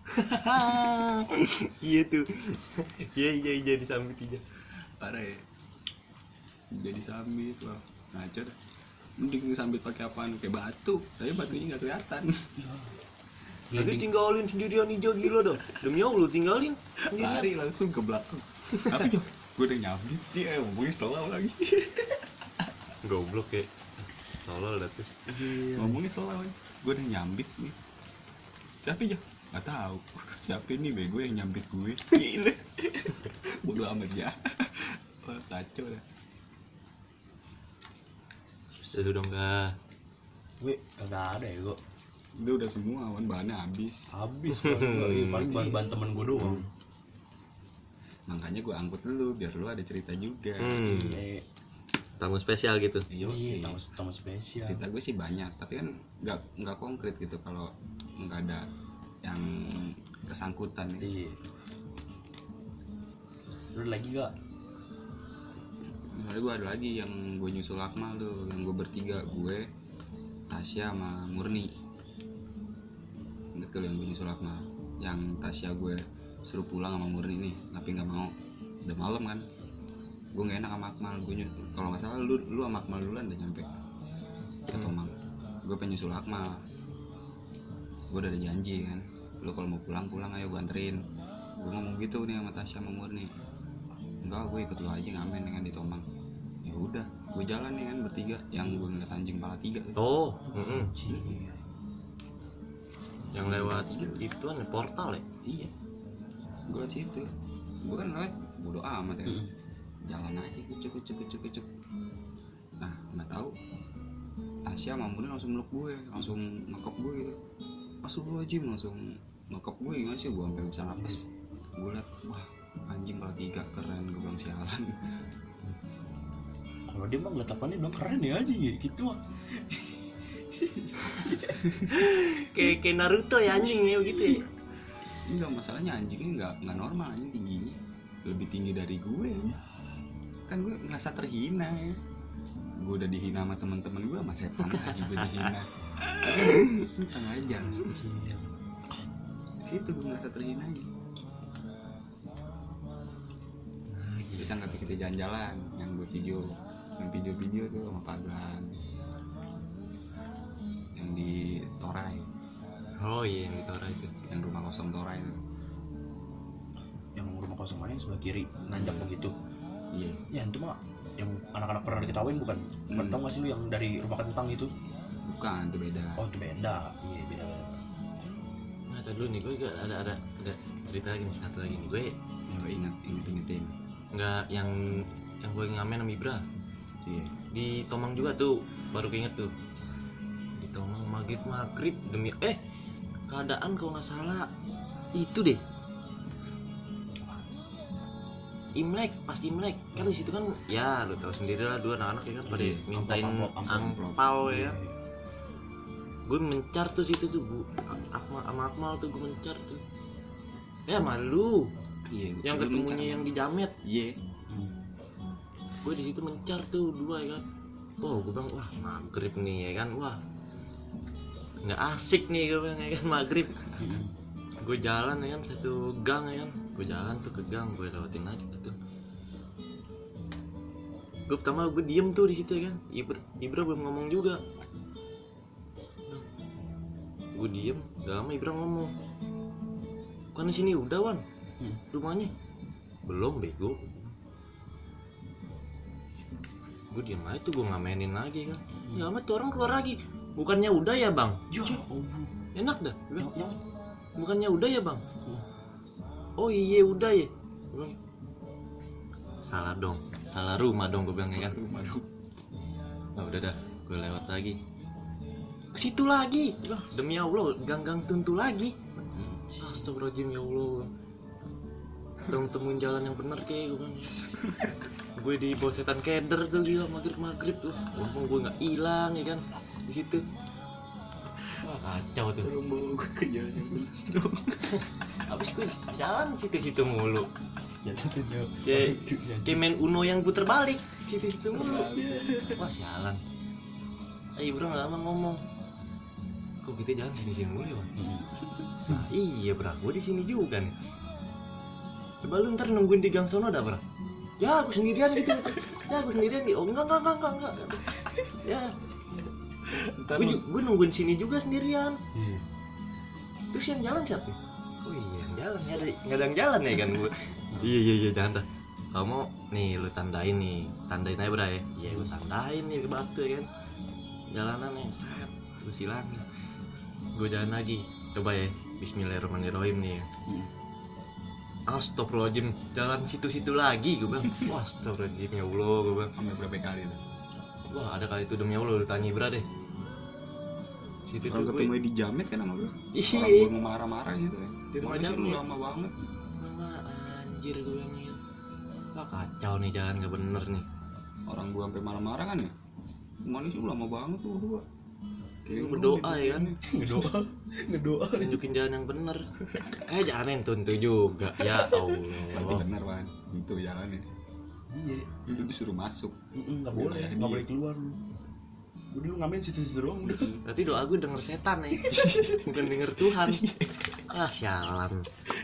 Iya tuh, iya disambit aja. Parah ya. Ija disambit wah ngaco dah. Mending disambit pakai apaan? Kayak batu, tapi batunya nggak kelihatan. Jadi tinggalin sendirian Ija gila dah. Demi Allah tinggalin sendirian. Lari langsung ke belakang. Apa Jo? Gue udah nyambit dia ngomongnya selalu lagi. Goblok ya. Tolol dah tuh. Ngomongnya selalu. Gue udah nyambit nih. Siapa Jo? Nggak tahu. Siapa ini bego yang nyambit gue? Gila. Bodoh amat ya. Wah, kacau dah. Seru dong Kak. Gue kagak ada ya gue. Itu udah semua kan bahannya habis. Habis paling bahan temen gue doang. Makanya gue angkut dulu biar lu ada cerita juga. Iya, Tamu spesial gitu. iya, tamu spesial. Cerita gue sih banyak, tapi kan nggak konkret gitu kalau nggak ada yang kesangkutan ya. Iya. Lu lagi gak? Misalnya gue ada lagi yang gue nyusul Akmal tuh, yang gue bertiga, gue, Tasya sama Murni. Ingat kalau yang gue nyusul Akmal, yang Tasya gue suruh pulang sama Murni nih, tapi nggak mau. Udah malam kan, gue nggak enak sama Akmal. Gue kalau nggak salah lu sama Akmal duluan udah nyampe ke Tomang. Gue pengen nyusul Akmal. Gue udah ada janji kan, lu kalau mau pulang ayo gue anterin. Gue ngomong gitu nih sama Tasya sama Murni. Enggak, gue ikut lu aja ngamen dengan di Tomang. Ya udah, gue jalan nih kan bertiga, yang gue ngeliat anjing pala 3 tuh. Oh, yang lewat itu kan portal ya. Iya, gue lewat situ. Gue kan lewat bodo amat ya. Jalan aja kucuk. Nah, nggak tahu Tasya sama Murni langsung meluk gue, langsung ngekop gue gitu. Astagfirullahaladzim, langsung ngekop gue. Gimana sih, gue sampai bisa napas. Gue liat, wah anjing pala 3 keren, gue bilang sialan. Kalau dia mah ngeliat apaan dia bilang keren ya aja gitu mah. Kayak Naruto ya anjing ya gitu ya. Enggak, masalahnya anjingnya nggak normal, anjing tingginya lebih tinggi dari gue ya. Kan gue ngerasa terhina ya. Gue udah dihina sama teman-teman gue, sama setan lagi gue dihina. Tang aja. Situ gue ngerasa terhina aja. Bisa nggak kita jalan-jalan yang gue video tuh sama Pagan yang di Torai. Oh iya yang di Torai itu. Yang rumah kosong Torai itu. Yang rumah kosong mana yang sebelah kiri nanjak begitu. Iya. Ya itu mah yang anak-anak pernah diketawain bukan? Tau gak sih lu yang dari rumah kentang itu? Bukan, itu beda. Oh itu beda. Iya beda. Nah tadi dulu nih gue juga ada cerita lagi nih, satu lagi nih gue. Ya gue ingetin. Nggak yang gue ngamen sama Ibra. Iya. Di Tomang juga tuh, baru keinget tuh. Di Tomang maghrib demi keadaan kalau nggak salah itu deh. Imlek, pas Imlek kan di situ kan ya lu tahu sendiri lah, dua anak-anak ya kan pada Iya, mintain amplop. angpau ya. Gue mencar tuh situ tuh bu, sama Akmal tuh gue mencar tuh. Ya malu, Iya, yang ketemunya yang di Jamet. Iya. Gue di situ mencar tuh dua ya kan. Oh gue bilang wah maghrib nih ya kan, wah nggak asik nih gue bilang ya kan maghrib. Gue jalan ya kan satu gang ya kan, gue jalan tuh ke gang, gue lewatin lagi ke gang. Gue pertama gue diem tuh di situ ya kan, Ibra belum ngomong juga. Gue diem, gak lama Ibra ngomong, kan di sini udah Wan rumahnya. Belum bego. Gue diem aja tuh, gue ngamenin lagi kan. Ya amat tuh orang keluar lagi, bukannya udah ya bang? Ya Enak dah. yang Bukannya udah ya bang? Oh iya udah ya. Gua bilang, salah dong, salah rumah dong gue bilang ya kan. Rumah dong. Nah udah dah, gue lewat lagi ke situ lagi. Demi Allah, gang-gang tuntu lagi. Astagfirullahaladzim ya Allah. Temuin jalan yang benar kayak gue bilang. Gue di bawah setan keder tuh dia maghrib tuh. Untung gue nggak hilang ya kan di situ. Wah kacau tuh. Tolong bawa gue ke jalan yang benar dong. Habis gue jalan situ-situ mulu. jatuhnya Kayak main Uno yang puter balik situ-situ mulu. Wah sialan. Bro nggak lama ngomong. Kok kita jalan sini mulu ya bang? Nah, iya bro, gue di sini juga nih. Coba lu ntar nungguin di gang sono dah bro. Ya aku sendirian gitu. Ya aku sendirian nih. Oh enggak. Ya. Gue nungguin sini juga sendirian. Terus yang jalan siapa? Oh iya yang jalan ya, nggak ada yang jalan ya kan gue. Iya jangan dah. Kamu nih lu tandain aja bro ya. Iya gue tandain nih ke batu ya kan. Jalanan nih, set, terus hilang. Gue jalan lagi, coba ya. Bismillahirrahmanirrahim nih. Astagfirullahaladzim, jalan situ-situ lagi gue bilang. Wah astagfirullahaladzim ya Allah gue bilang. Sampai berapa kali tuh? Wah ada kali itu demi Allah lu tanya Ibra deh. Situ Kalau tuh ketemu di Jamet kan sama gue. Iya. Orang gue marah-marah gitu ya. Di rumah Mana sih lu Jamet. lama banget. Wah anjir gue bilang gitu. Wah kacau nih jalan gak bener nih. Orang gue sampai marah-marah kan ya. Mana sih lu lama banget tuh berdua. Lu berdoa ya kan. ngedoa Tunjukin jalan yang bener. Kayak jalan yang tuntu juga. Ya Tapi Allah. bener Wan, itu jalannya. iya Lu disuruh masuk. nggak boleh Wilayah nggak dia. boleh keluar lu dulu ngamen situ doang udah. Berarti doa gue denger setan ya. Bukan denger Tuhan. Ah sialan.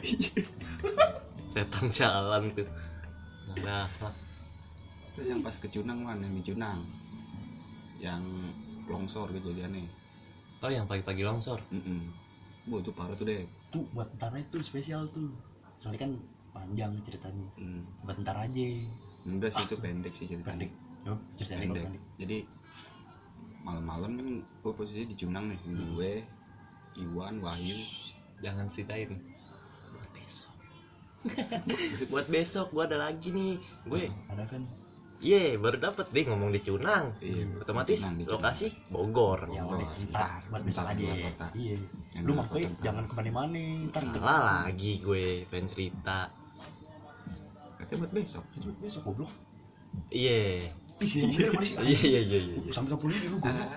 Setan sialan tuh. Nah, Terus yang pas ke Cunang Wan, yang di Cunang. Yang longsor kejadiannya. oh yang pagi-pagi longsor. Wah itu parah tuh deh. Tuh buat ntar itu spesial tuh soalnya kan panjang ceritanya buat ntar aja. Enggak sih itu pendek sih ceritanya. Pendek. Ceritanya Pendek. pendek. Jadi malam-malam kan gue posisi di Cunang nih. Gue, Iwan, Wahyu. Jangan ceritain. Buat besok. Buat besok gue ada lagi nih. Gue ada kan iya baru dapet deh ngomong di Cunang. Iya, Otomatis Cunang, di Cunang. lokasi Bogor. ya Bogor. udah ntar buat besok Ntar aja. di luar kota. Iya Yang lu di luar makanya kota. jangan kemana-mana ntar Salah lagi gue pengen cerita. Katanya buat besok. besok goblok. Iya. Iya masih Iya. sampai 10 ini lu goblok.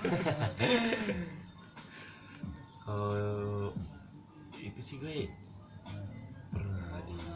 Kalau itu sih gue pernah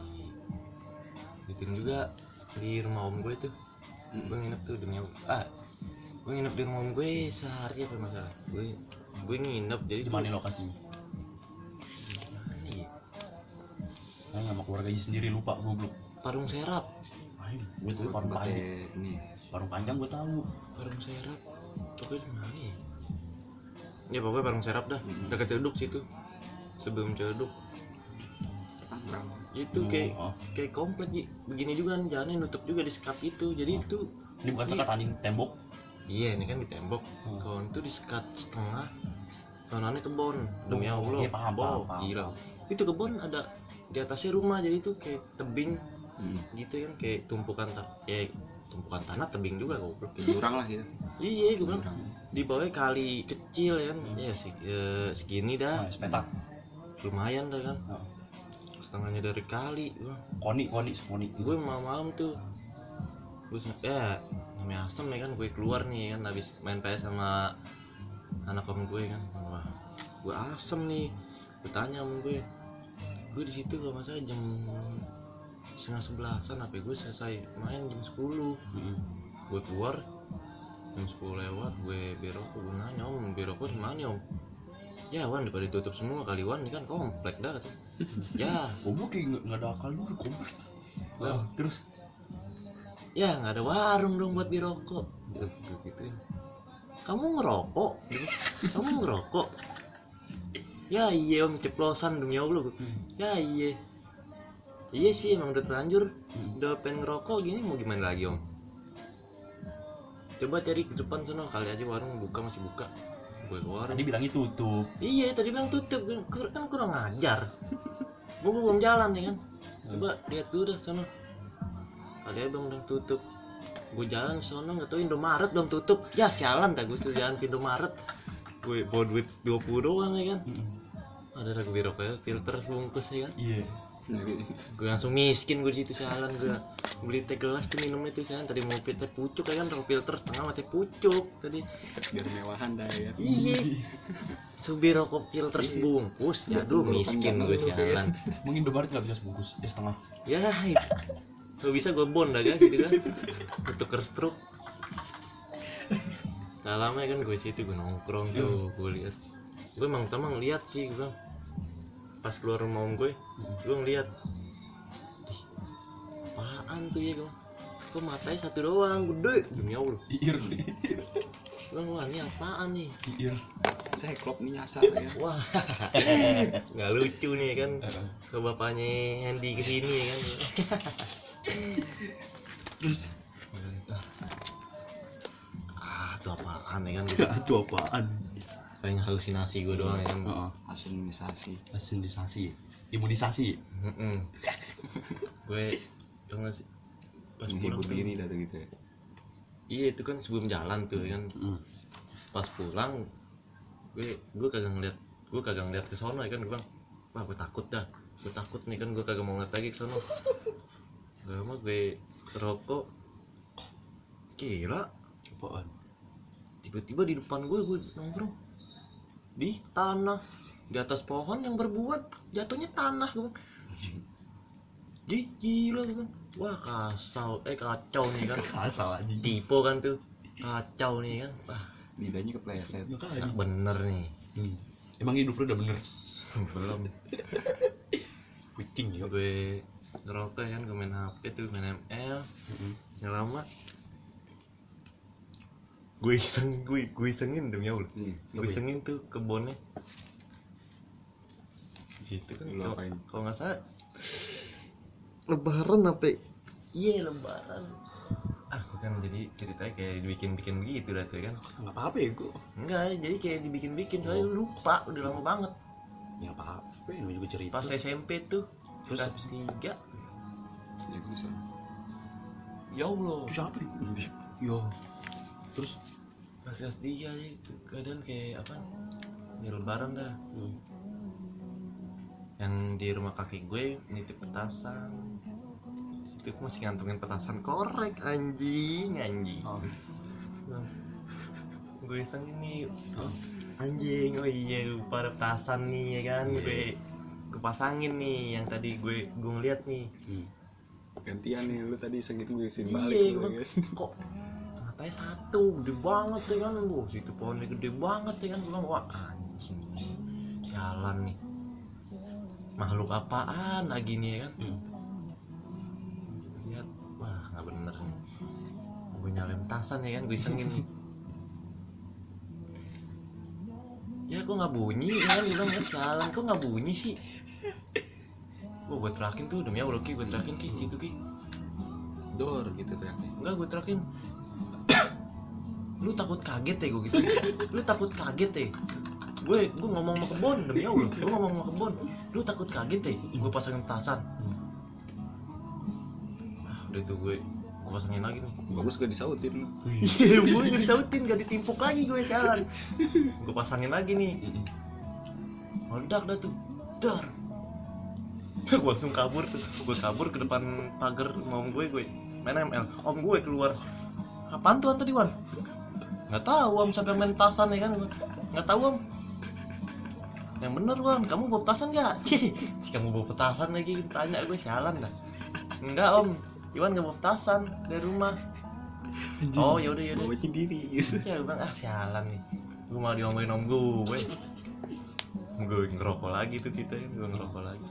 bikin juga di rumah om gue tuh. Gue nginep tuh demi gue nginep di rumah om gue sehari apa masalah. Gue nginep jadi Di mana lokasinya? Mana ya? Sama keluarganya sendiri lupa goblok. Parung Serap. Ayo, gue tuh parung panjang. Nih. Parung panjang gue tahu. Parung Serap. Pokoknya di mana ya? Ya pokoknya Parung Serap dah. Dekat Ceduk situ. Sebelum Ceduk. Tangerang. Itu kayak komplek begini juga kan jalannya nutup juga di sekat itu. Jadi itu Ini bukan sekat anjing tembok. iya ini kan di tembok. Kalau itu di sekat setengah. Sonanya kebon. Demi Oh, Allah. iya, paham. Gila. Itu kebon ada di atasnya rumah jadi itu kayak tebing gitu kan kayak tumpukan tanah tebing juga goblok. Jurang lah gitu. Iya gue bilang Jurang. di bawahnya kali kecil ya kan. Ya segini dah. Nah, sepetak. Lumayan dah kan. setengahnya dari kali gua. Koni. Gue malam tuh gue ya namanya asem ya kan, gue keluar nih kan habis main PS sama anak om gue kan. Wah gue asem nih, gue tanya sama gue di situ kalau nggak salah jam 10:30 apa gue selesai main jam 10. Gue keluar jam 10 lewat, gue berokok, gue nanya om berokok di mana om? Ya Wan daripada ditutup semua kali Wan, ini kan komplek dah kata. Ya goblok kayak nggak ada akal lu komplek. Terus ya nggak ada warung dong buat birokok gitu. Kamu ngerokok? Kamu ngerokok? Ya iya om, ceplosan demi Allah. Ya iya sih emang udah terlanjur, udah pengen ngerokok gini mau gimana lagi om? Coba cari ke depan sana kali aja warung buka, masih buka. Gue keluar. tadi bilangnya tutup. Iya tadi bilang tutup, kan kurang ajar. Gue belum jalan ya kan. Coba lihat dulu dah sana. Kali aja bang udah tutup. Gue jalan sono nggak tahu Indomaret belum tutup. Ya sialan dah gue suruh jalan ke Indomaret. Gue bawa duit 20 doang ya kan. Ada ragu biroknya filter sebungkus ya kan. Iya. Gue langsung miskin gue di situ sialan. Gue beli teh gelas tuh minumnya tuh sialan. Tadi mau teh pucuk ya kan, ragu filter setengah sama teh pucuk tadi. Biar mewahan dah ya. Iya. Subir rokok filter sebungkus. Ya aduh miskin gue sialan. Mungkin Indomaret nggak bisa sebungkus, ya setengah. Ya itu. Kalau bisa gue bond aja gitu kan. Tuker stroke. Gak lama ya kan gue situ gue nongkrong tuh, gue lihat. Gue emang lihat sih gue. Pas keluar rumah om gue ngeliat. Apaan tuh ya gue? Kok matanya satu doang, gede. Demi Allah. Iir. Wah ini apaan nih? Iir. Saya klop nih nyasar ya. Wah, nggak lucu nih kan? Ke bapaknya Handy kesini ya kan? Terus itu apaan ya kan? itu apaan? Paling halusinasi gue doang ya kan? Asunisasi. Imunisasi. Gue tau gak sih? Pas menghibur pulang diri dah tuh gitu ya. Iya itu kan sebelum jalan tuh ya kan. Pas pulang gue kagak ngeliat ke sono ya kan. Gue bilang wah gue takut nih kan, gue kagak mau ngeliat lagi ke sono. Gak lama gue rokok, kira Apaan? tiba-tiba di depan gue nongkrong di tanah, di atas pohon yang berbuat jatuhnya tanah. Gue gila gue bilang, wah kacau nih kan. Asal aja. Tipe kan tuh, kacau nih kan. Wah Lidahnya kepleset. bener nih. Emang hidup lu udah bener? Belum. Kucing ya. Gue ngerokok kan, gue main HP tuh, main ML. Nggak lama gue isengin demi Allah. Gue isengin tuh kebunnya di situ kan. Kalau nggak salah Lebaran apa? Iya Lebaran. Aku kan jadi ceritanya kayak dibikin begitu dah tuh kan. Nggak apa-apa ya gue. Enggak, jadi kayak dibikin soalnya lupa, udah lama banget. Ya apa-apa, ini juga cerita. Pas SMP tuh Terus kelas 3. Ya gue bisa. Ya Allah. Itu siapa nih? Yo. Terus Pas kelas 3 aja keadaan kayak apa? Ya Lebaran dah. Yang di rumah kakek gue nitip petasan. Di situ masih ngantongin petasan korek anjing. Gue iseng ini. Anjing, oh iya lupa ada petasan nih ya kan. Gue pasangin nih yang tadi gue ngeliat nih. Gantian nih, lu tadi isengin gue isin Iya, balik. kok matanya satu, gede banget ya kan. Situ pohonnya gede banget ya kan. Gue bilang, wah anjing, jalan nih. Makhluk apaan lagi nih ya kan. Lihat, wah gak bener nih. Gue nyalain petasan ya kan, gue isengin nih. Ya kok gak bunyi ya kan, gue bilang ya sialan, kok gak bunyi sih. Gue terakin tuh, demi Allah Ki, gue terakin Ki, gitu Ki. Dor gitu teriaknya. Enggak, gue terakin. Lu takut kaget ya gue gitu. Lu takut kaget ya. Gue ngomong sama kebon, demi Allah. Gue ngomong sama kebon. Lu takut kaget ya. Gue pasangin petasan. Udah itu gue pasangin lagi nih. Bagus gak disautin lu. Iya, gue gak disautin, gak ditimpuk lagi gue sialan. Gue pasangin lagi nih. Meledak dah tuh. Dar. Gue langsung kabur tuh, gue kabur ke depan pagar rumah om gue main ML. Om gue keluar, apaan tuh tadi Wan? Nggak tahu om, sampai main petasan ya kan? Nggak tahu om. Yang bener Wan, kamu bawa petasan nggak? Kamu bawa petasan lagi, tanya gue, sialan dah. Enggak om, Iwan nggak bawa petasan dari rumah. Oh yaudah bawa sendiri gitu. Ya gue bilang sialan nih, gue malah diomelin om gue. Gue ngerokok lagi tuh ceritanya, gue ngerokok lagi.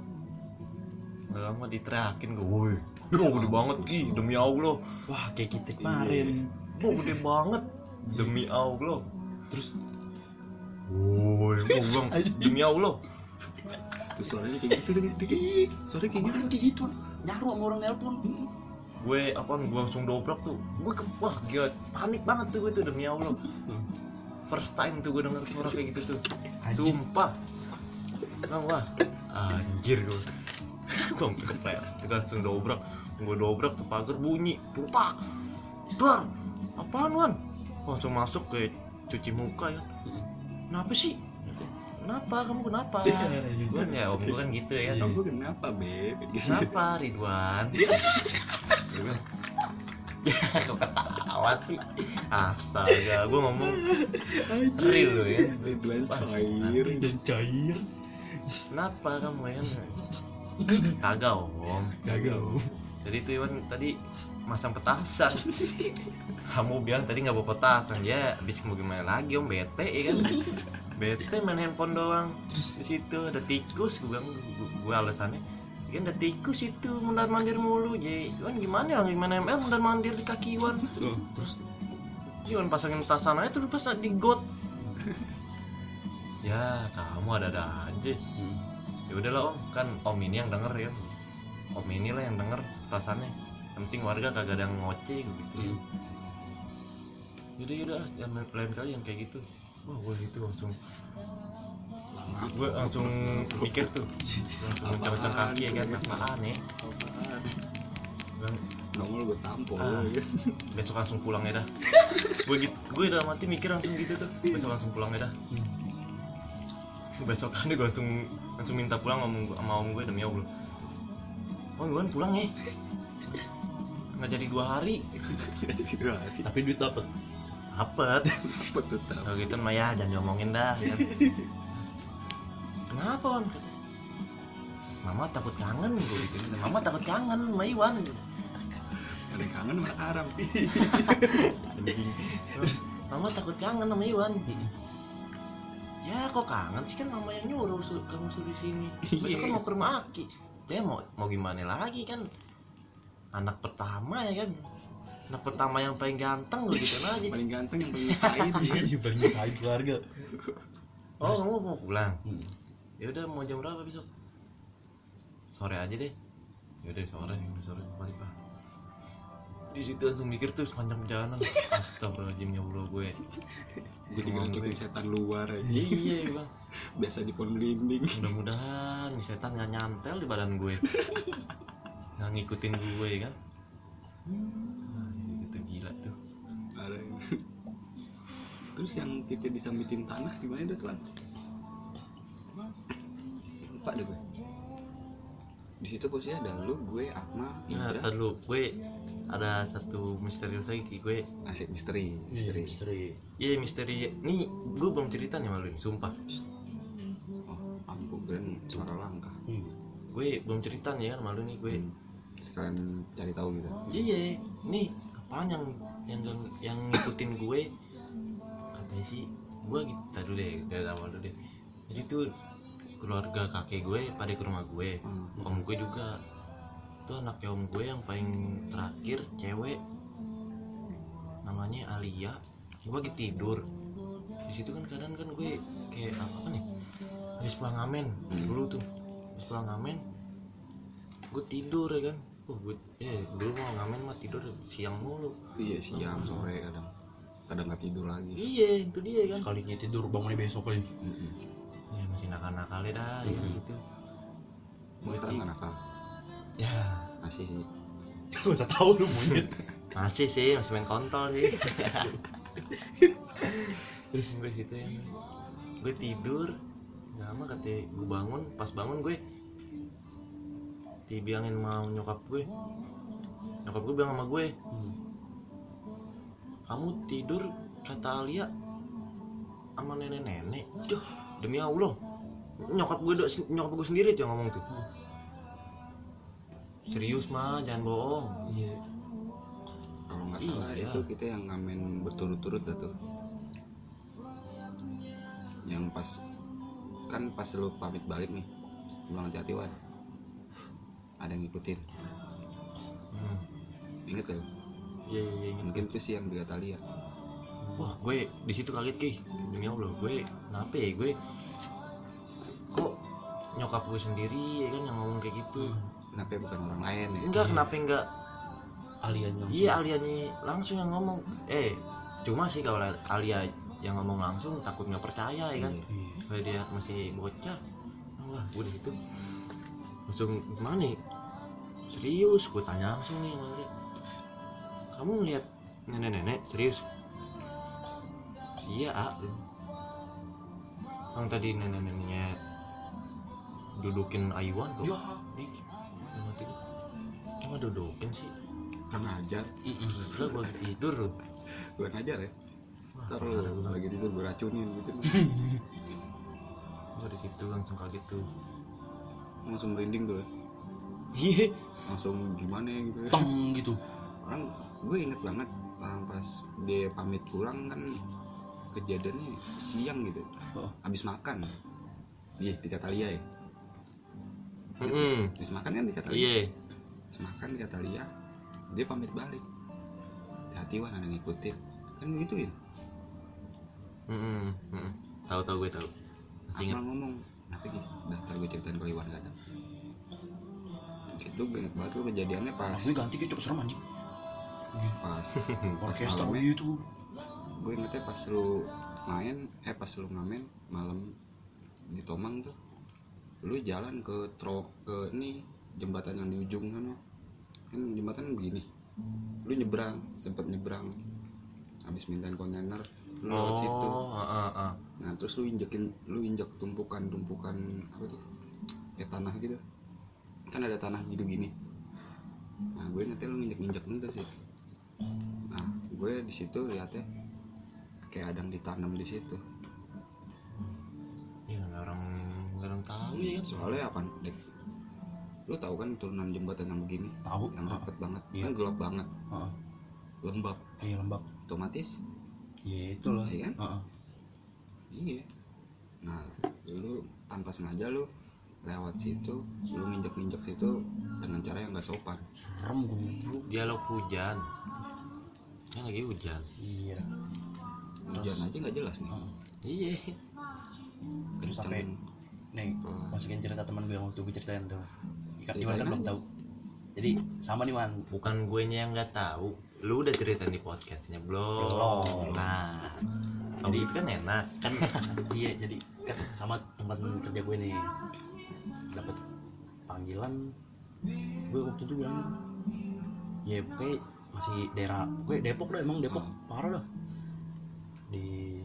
Lama diteriakin gue, woi, gede banget Ki, demi Allah. Wah kayak kita kemarin. Gede banget, demi Allah. Terus, woi, gue bilang demi Allah. Terus suaranya kayak gitu tuh, suaranya kayak gitu. Kayak gitu, nyaru sama orang nelpon. Gue langsung dobrak tuh. Wah gila, panik banget tuh gue tuh, demi Allah. First time tuh gue denger suara kayak gitu tuh. Sumpah. Wah, anjir gue. Gue kepleset, gue langsung dobrak. Gue dobrak tuh pagar bunyi, putak. Dar, apaan Wan? Langsung masuk ke cuci muka ya. Kenapa sih? Kenapa? Kamu kenapa? Gue ya om gue kan gitu ya. Kamu kenapa Beb? Kenapa Ridwan? Gue bilang, ya kok ketawa sih? Astaga, gue ngomong real lo ya. Ridwan cair dan cair. Kenapa kamu ya? Kagak om. Jadi tuh Iwan tadi masang petasan. Kamu bilang tadi nggak bawa petasan, ya habis mau gimana lagi om, bete ya kan? Bete main handphone doang. Di situ ada tikus, gue bilang, gue alasannya kan ada tikus itu mundar mandir mulu. Jadi Iwan gimana ML mundar mandir di kaki Iwan. Terus Iwan pasangin petasan aja tuh pas di got. Ya kamu ada aja. Ya udahlah om, kan om ini yang denger ya. Om inilah yang denger petasannya. Yang penting warga kagak ada yang ngoceh gitu. Yaudah, jangan lain kali yang kayak gitu. Wah gue gitu langsung. Gue langsung mikir tuh, langsung mencang-mencang kaki ya kan, apaan ya? Nongol gue tampol ya. Besok langsung pulang ya dah. Gue udah mati mikir langsung gitu tuh. Besok langsung pulang ya dah. Besok kan gue langsung minta pulang sama om gue, demi Allah. Oh Iwan pulang ya? Nggak jadi 2 hari. Tapi duit dapet. Tetap. Kalau gitu mah ya jangan diomongin dah kan. Kenapa Wan? Mama takut kangen gue gitu. Mama takut kangen sama Iwan. Ada yang kangen mana Arab. Mama takut kangen sama Iwan. Ya kok kangen sih, kan mama yang nyuruh kamu suruh sini. Besok kan mau ke rumah Aki. Ya mau gimana lagi kan? Anak pertama ya kan. Anak pertama yang paling ganteng gue gitu aja. Paling ganteng yang paling said ya. Paling said keluarga. Oh kamu mau pulang? Ya udah mau jam berapa besok? Sore aja deh. Ya udah sore balik Pak. Di situ langsung mikir tuh sepanjang perjalanan. Astagfirullahaladzim ya Allah gue. Gue digerakin setan luar aja. Iya bang. Biasa di pohon belimbing. Mudah-mudahan nih setan nggak nyantel di badan gue. Nggak ngikutin gue kan. Itu gila tuh. Terus yang kita disambitin tanah gimana dah tuan? Lupa deh gue. Di situ posisinya ada lu, gue, Akmal, Indra. Nah, lu, gue ada satu misterius lagi gue. Asik misteri. Iya misteri. Nih gue belum cerita nih malu nih, sumpah. Oh, ampun, keren suara langka. Gue belum cerita nih kan malu nih gue. Sekalian cari tahu gitu. Iya, nih apaan yang ngikutin gue? Katanya sih, gue gitu dulu deh, dari awal dulu deh. Jadi tuh keluarga kakek gue pada ke rumah gue, om gue juga. Tuh anaknya om gue yang paling terakhir cewek, namanya Alia. Gue lagi tidur. Di situ kan kadang kan gue kayak apa nih? Habis pulang ngamen dulu tuh, habis pulang ngamen gue tidur ya kan. Gue dulu mau ngamen mah tidur siang mulu. Iya siang sore kadang nggak tidur lagi. Iya itu dia kan. Sekalinya tidur bangunnya besok lagi. Ya masih nakal-nakalnya dah ya gitu. Gue sekarang nggak nakal. Ya Masih sih. Gak usah tahu lu monyet. masih sih, masih main kontol sih. Terus gue situ ya, gue tidur nggak lama katanya gue bangun. Pas bangun gue dibilangin mau nyokap gue bilang sama gue, kamu tidur kata Alia sama nenek-nenek. Duh, demi Allah, nyokap gue sendiri tuh yang ngomong tuh. Serius mah, jangan bohong. Iya. Kalau nggak salah Iya. itu kita yang ngamen berturut-turut dah tuh. Yang pas lu pamit balik nih, pulang hati-hati Wan, ada yang ngikutin. Ingat kan? Iya. Mungkin itu sih yang dilihat Alia. Wah, gue di situ kaget Ki. Demi Allah, gue kenapa ya gue kok nyokap gue sendiri ya kan yang ngomong kayak gitu. Kenapa bukan orang lain ya? Enggak, kenapa enggak? Aliannya. Iya, Alianya langsung yang ngomong. Cuma sih kalau Alia yang ngomong langsung takut nggak percaya ya kan. Iya. Kayak dia masih bocah. Wah, gue di situ langsung gimana nih? Serius, gue tanya langsung nih sama Alia. Kamu lihat nenek-nenek serius? Iya, yang tadi nenek-neneknya dudukin Aywan tuh. Ya. Cuma dudukin sih. Kurang ajar. Udah gue tidur. Kurang ajar ya. Wah, Ntar lu lagi tidur gue racunin gitu. gue di situ langsung kaget tuh. Langsung merinding tuh ya. Iya. Langsung gimana ya gitu ya. Tong gitu. Orang gue inget banget orang pas dia pamit pulang kan kejadiannya siang gitu. Habis makan. Iya, di kata Lia ya. Habis makan kan di kata Lia. Iya. Habis makan di kata Lia. Dia pamit balik. Hati-hati Wan, ada yang ngikutin. Kan gituin. Tahu gue tahu. Masih ingat. Amal ngomong, kenapa gitu? Udah, ntar gue ceritain kalau Iwan gak ada. Gitu, gue inget banget tuh kejadiannya pas Gue ganti kecok serem anjing. pas Orkestra malamnya. gitu. Gue ingetnya pas lu pas lu ngamen malam di Tomang tuh, lu jalan ke ini jembatan yang di ujung sana. Kan jembatan begini, lu sempet nyebrang habis mintain kontainer lu lewat situ. Nah terus lu injek tumpukan apa tuh kayak tanah gitu, kan ada tanah gini. Nah gue ingetnya lu injek itu sih. Nah gue di situ lihatnya kayak ada yang ditanam di situ. Ya nggak orang tahu ya. Soalnya apa Dek? Lu tahu kan turunan jembatan yang begini, Tahu. yang rapet banget, Iya. kan gelap banget, Heeh. lembab, Iya lembab. otomatis. Iya itu loh. Iya kan? Heeh. Iya. Nah, lu tanpa sengaja lu lewat situ, lu nginjek situ dengan cara yang nggak sopan. Serem goblok. Dialog hujan. Kan lagi hujan. Iya. Hujan aja nggak jelas nih. Heeh. Iya. Terus sampai nih masukin cerita teman gue yang waktu gue ceritain tuh. Iwan kan belum tahu. Jadi sama nih Man. Bukan guenya yang nggak tahu. Lu udah cerita di podcastnya belum? Belum. Nah, jadi itu kan enak kan. Iya jadi kan sama teman kerja gue nih dapat panggilan. Gue waktu itu bilang ya pokoknya masih daerah gue Depok dah, emang Depok parah dah. Di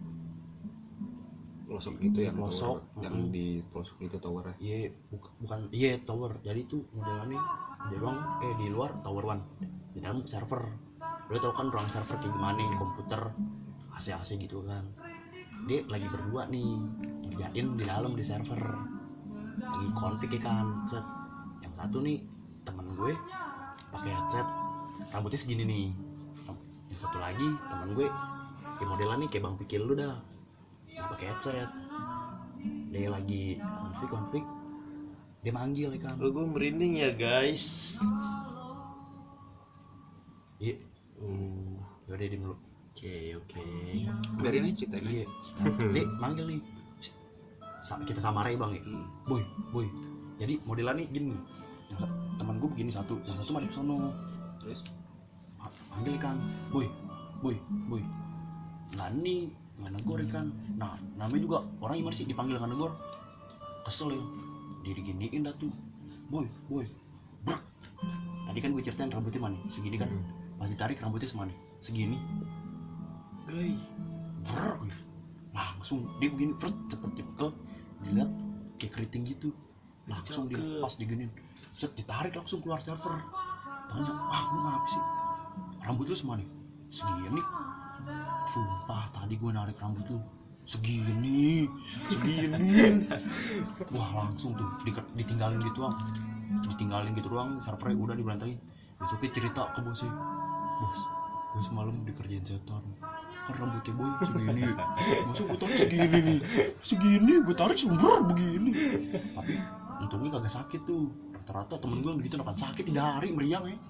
pelosok gitu yang pelosok, tower, yang di pelosok itu towernya. iya bukan iya tower. Jadi itu modelannya di luar tower one, di dalam server. Lo tau kan ruang server kayak gimana di komputer AC gitu kan. Dia lagi berdua nih ngerjain di dalam di server, lagi config ya kan. Set yang satu nih teman gue pakai headset, rambutnya segini nih. Yang satu lagi teman gue ya modelannya kayak Bang Pikir lu dah, dia pakai headset. Dia lagi config dia manggil ya kan. Gue merinding ya guys. Iya. Yaudah di mulut. Oke. Biarin aja ceritain. Iya. Dia manggil nih. Kita samarai Bang ya. Boy. Jadi modelannya gini. Yang teman gue begini satu, yang satu madep sono. Terus Panggil kan. Boy. Nah ini nggak negor kan. Nah namanya juga orang gimana sih dipanggil nggak negor. Kesel ya. Dia diginiin dah tuh. Boy. Brr. Tadi kan gue ceritain rambutnya mana segini kan. Pas ditarik rambutnya semana segini. Brr. Langsung dia begini cepet dipekel. Dilihat kayak keriting gitu. langsung dilepas diginin, set ditarik langsung keluar server. Tanya, lu ngapa sih? Rambut lu semua nih segini. Sumpah tadi gue narik rambut lu segini. Wah langsung tuh ditinggalin gitu doang, servernya udah diberantain. Besoknya cerita ke bosnya, bos gue semalam dikerjain setan, kan rambutnya boy segini, masuk gue tarik segini gue tarik sumber begini. Tapi untungnya kagak sakit tuh. Rata-rata temen gue begitu akan sakit 3 hari meriang ya.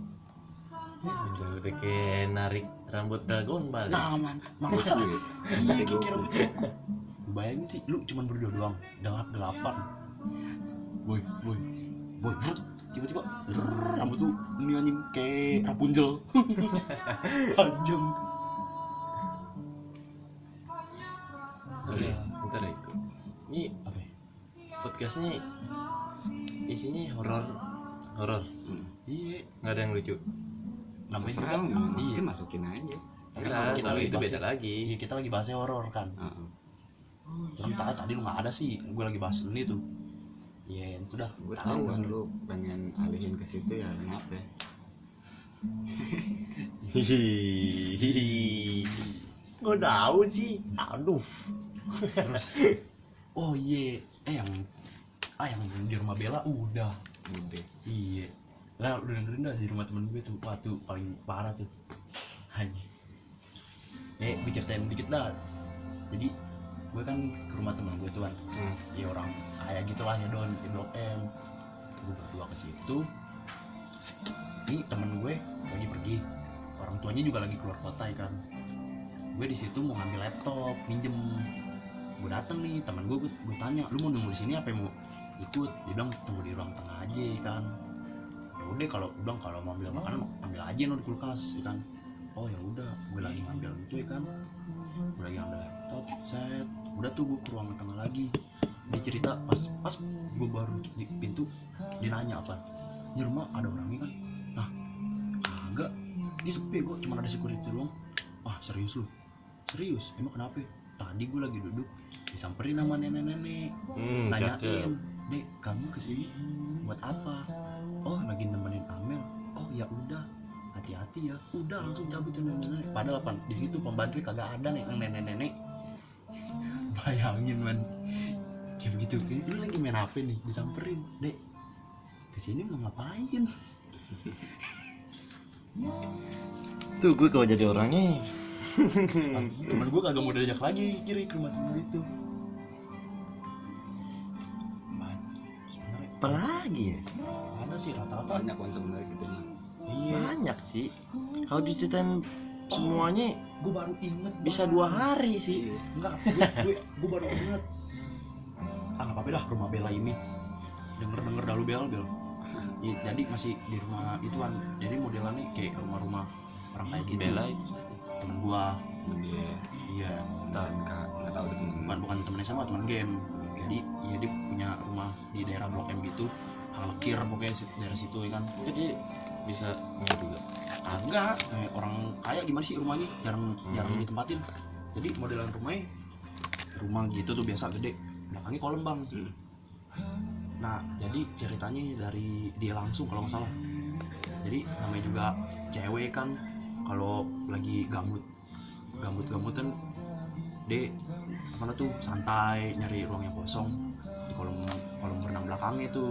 Udah kayak narik rambut Dragon Ball. Nah makanya iya kira begitu. Lu bayangin sih, lu cuman berdua doang, gelap-gelapan. Boy, brut, tiba-tiba rambut tuh ini anjing kayak Rapunzel. Panjang. Oke, bentar ya. Ini Apa ya? podcastnya isinya horor. Iya, Nggak ada yang lucu. namanya Terserah juga lu masukin aja. Tapi Enggak, kalau kita kalau lagi itu bahas- beda lagi. Iya, kita lagi bahasnya horor kan. Cuman tadi lu nggak ada sih, gue lagi bahas ini tuh. Iya, itu dah. Gue tahu kan lu pengen alihin ke situ ya, kenapa ya? Gue tahu sih. Aduh. Terus, oh iya, yang di rumah Bella udah. Iya. Lah udah dengerin dah di rumah temen gue tuh, wah tuh paling parah tuh. Anjing. Gue ceritain dikit dah. Jadi gue kan ke rumah temen gue tuh kan. Ya orang kaya gitulah ya Don, di Blok M. Gue berdua ke situ. Ini temen gue lagi pergi. Orang tuanya juga lagi keluar kota ya kan. Gue di situ mau ngambil laptop, minjem. Gue dateng nih, temen gue tanya, lu mau nunggu di sini apa mau ikut? Dia bilang tunggu di ruang tengah aja kan. Ya udah kalau mau ambil makanan ambil aja di kulkas ya kan. Oh ya udah, gue lagi ngambil itu ya kan. Gue lagi ngambil laptop, set. Udah tuh gue ke ruang tengah lagi. Dia cerita pas gue baru di pintu, dia nanya apa? Di rumah ada orangnya kan? Nah, kagak. Ini sepi kok, cuma ada security doang. Wah serius lu? Serius? Emang kenapa? Tadi gue lagi duduk disamperin sama nenek-nenek, nanyain, Dek kamu kesini buat apa? Oh lagi nemenin Amel. Oh ya udah, hati-hati ya. Udah langsung cabut tuh nenek-nenek. Padahal di situ pembantu kagak ada nih yang nenek-nenek. Bayangin man, kayak begitu. Lu lagi main HP nih, disamperin, Dek kesini mau ngapain? Tuh gue kalau jadi orangnya. Temen gue kagak mau diajak lagi kiri ke rumah temen itu. Sebenarnya Apalagi ya? ada sih rata-rata. Banyak kan sebenarnya gitu ya. Iya. Banyak sih. Kalau diceritain semuanya Gue baru inget. bisa 2 hari sih. Enggak, gue baru inget. Nggak apa-apa dah rumah Bella ini. Denger dah lu Bel. Ya, jadi masih di rumah ituan. Jadi modelannya kayak rumah-rumah orang kayak gitu. Bella itu Temen gua. Dia Iya. SMK nggak tahu ada temen. Bukan temen SMA, temen game. Jadi ya dia punya rumah di daerah Blok M gitu. Hang Lekir pokoknya daerah situ ya kan. jadi bisa nggak juga. Agak kayak orang kaya gimana sih rumahnya, jarang ditempatin. Jadi modelan rumah gitu tuh biasa gede, belakangnya kolam bang. Nah jadi ceritanya dari dia langsung kalau nggak salah. Jadi namanya juga cewek kan, kalau lagi gamutan dia apa tuh santai nyari ruang yang kosong di kolam berenang belakangnya tuh.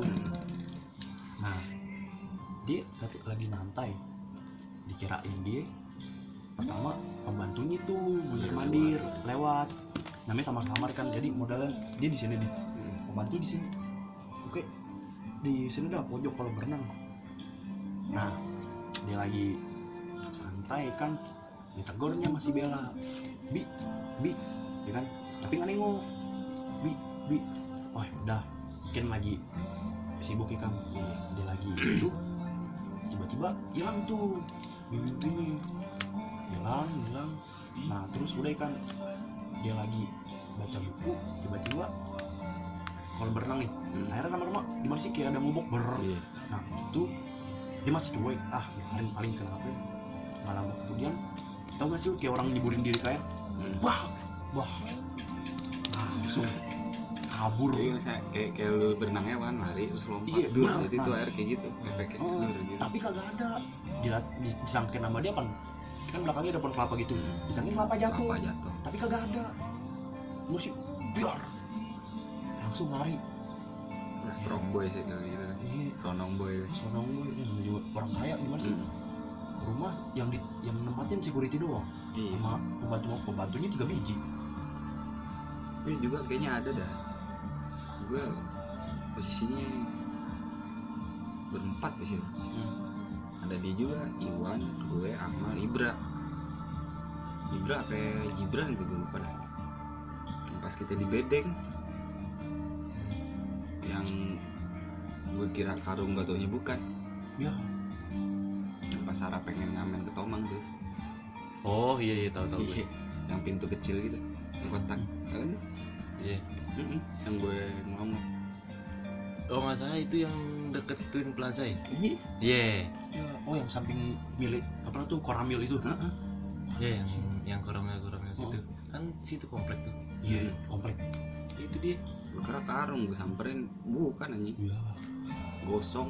Nah dia lagi nyantai, dikirain dia pertama pembantunya tuh mandir lewat, namanya sama kamar kan, jadi modalnya dia di sini nih, pembantu di sini, oke di sini dah pojok kolam berenang. Nah dia lagi santai kan, ditegurnya masih Bella, bi ya kan, tapi nggak nengok, bi oh udah mungkin lagi sibuk ya kan. Dia lagi itu tiba-tiba hilang tuh bibi hilang. Nah terus udah kan dia lagi baca buku, tiba-tiba kolam berenang nih, akhirnya lama-lama gimana sih kayak ada ngobok nah itu dia masih cuek, paling kenapa. Nggak lama kemudian tau gak sih kayak orang nyeburin diri ke air, wah langsung kabur. Iya, kayak lu berenang hewan, lari terus lompat. Iya, dur, benar, itu benar. air kayak gitu, efeknya Oh, dur gitu. tapi kagak ada. Disangkin nama dia kan belakangnya ada pohon kelapa gitu. Disangkin kelapa jatuh. Apa jatuh? Tapi kagak ada. Musik biar langsung lari. Strong boy sih kalau gitu. Iya, Sonong boy. sonong gue juga orang kaya gimana sih? Rumah yang nempatin security doang. Iya. Sama pembantunya 3 biji. Ini juga kayaknya ada dah. Gue posisinya berempat di situ. Ada dia juga, Iwan, gue, Akmal, Ibra apa Gibran gue lupa dah. Yang pas kita di bedeng, yang gue kira karung gak taunya bukan. Ya, Yang pas Sarah pengen ngamen ke Tomang tuh. Oh iya tahu Iya, yang pintu kecil gitu, yang kotak kan? iya. Yang gue ngomong. Oh nggak salah itu yang deket Twin Plaza ya? Iya. Iya. ya, oh yang samping milik apa tuh Koramil itu. Iya yang koramel Oh. gitu. Kan situ komplek tuh. Iya, komplek. Itu dia. Gue kira karung, gue samperin, bukan anjing, Iya. gosong.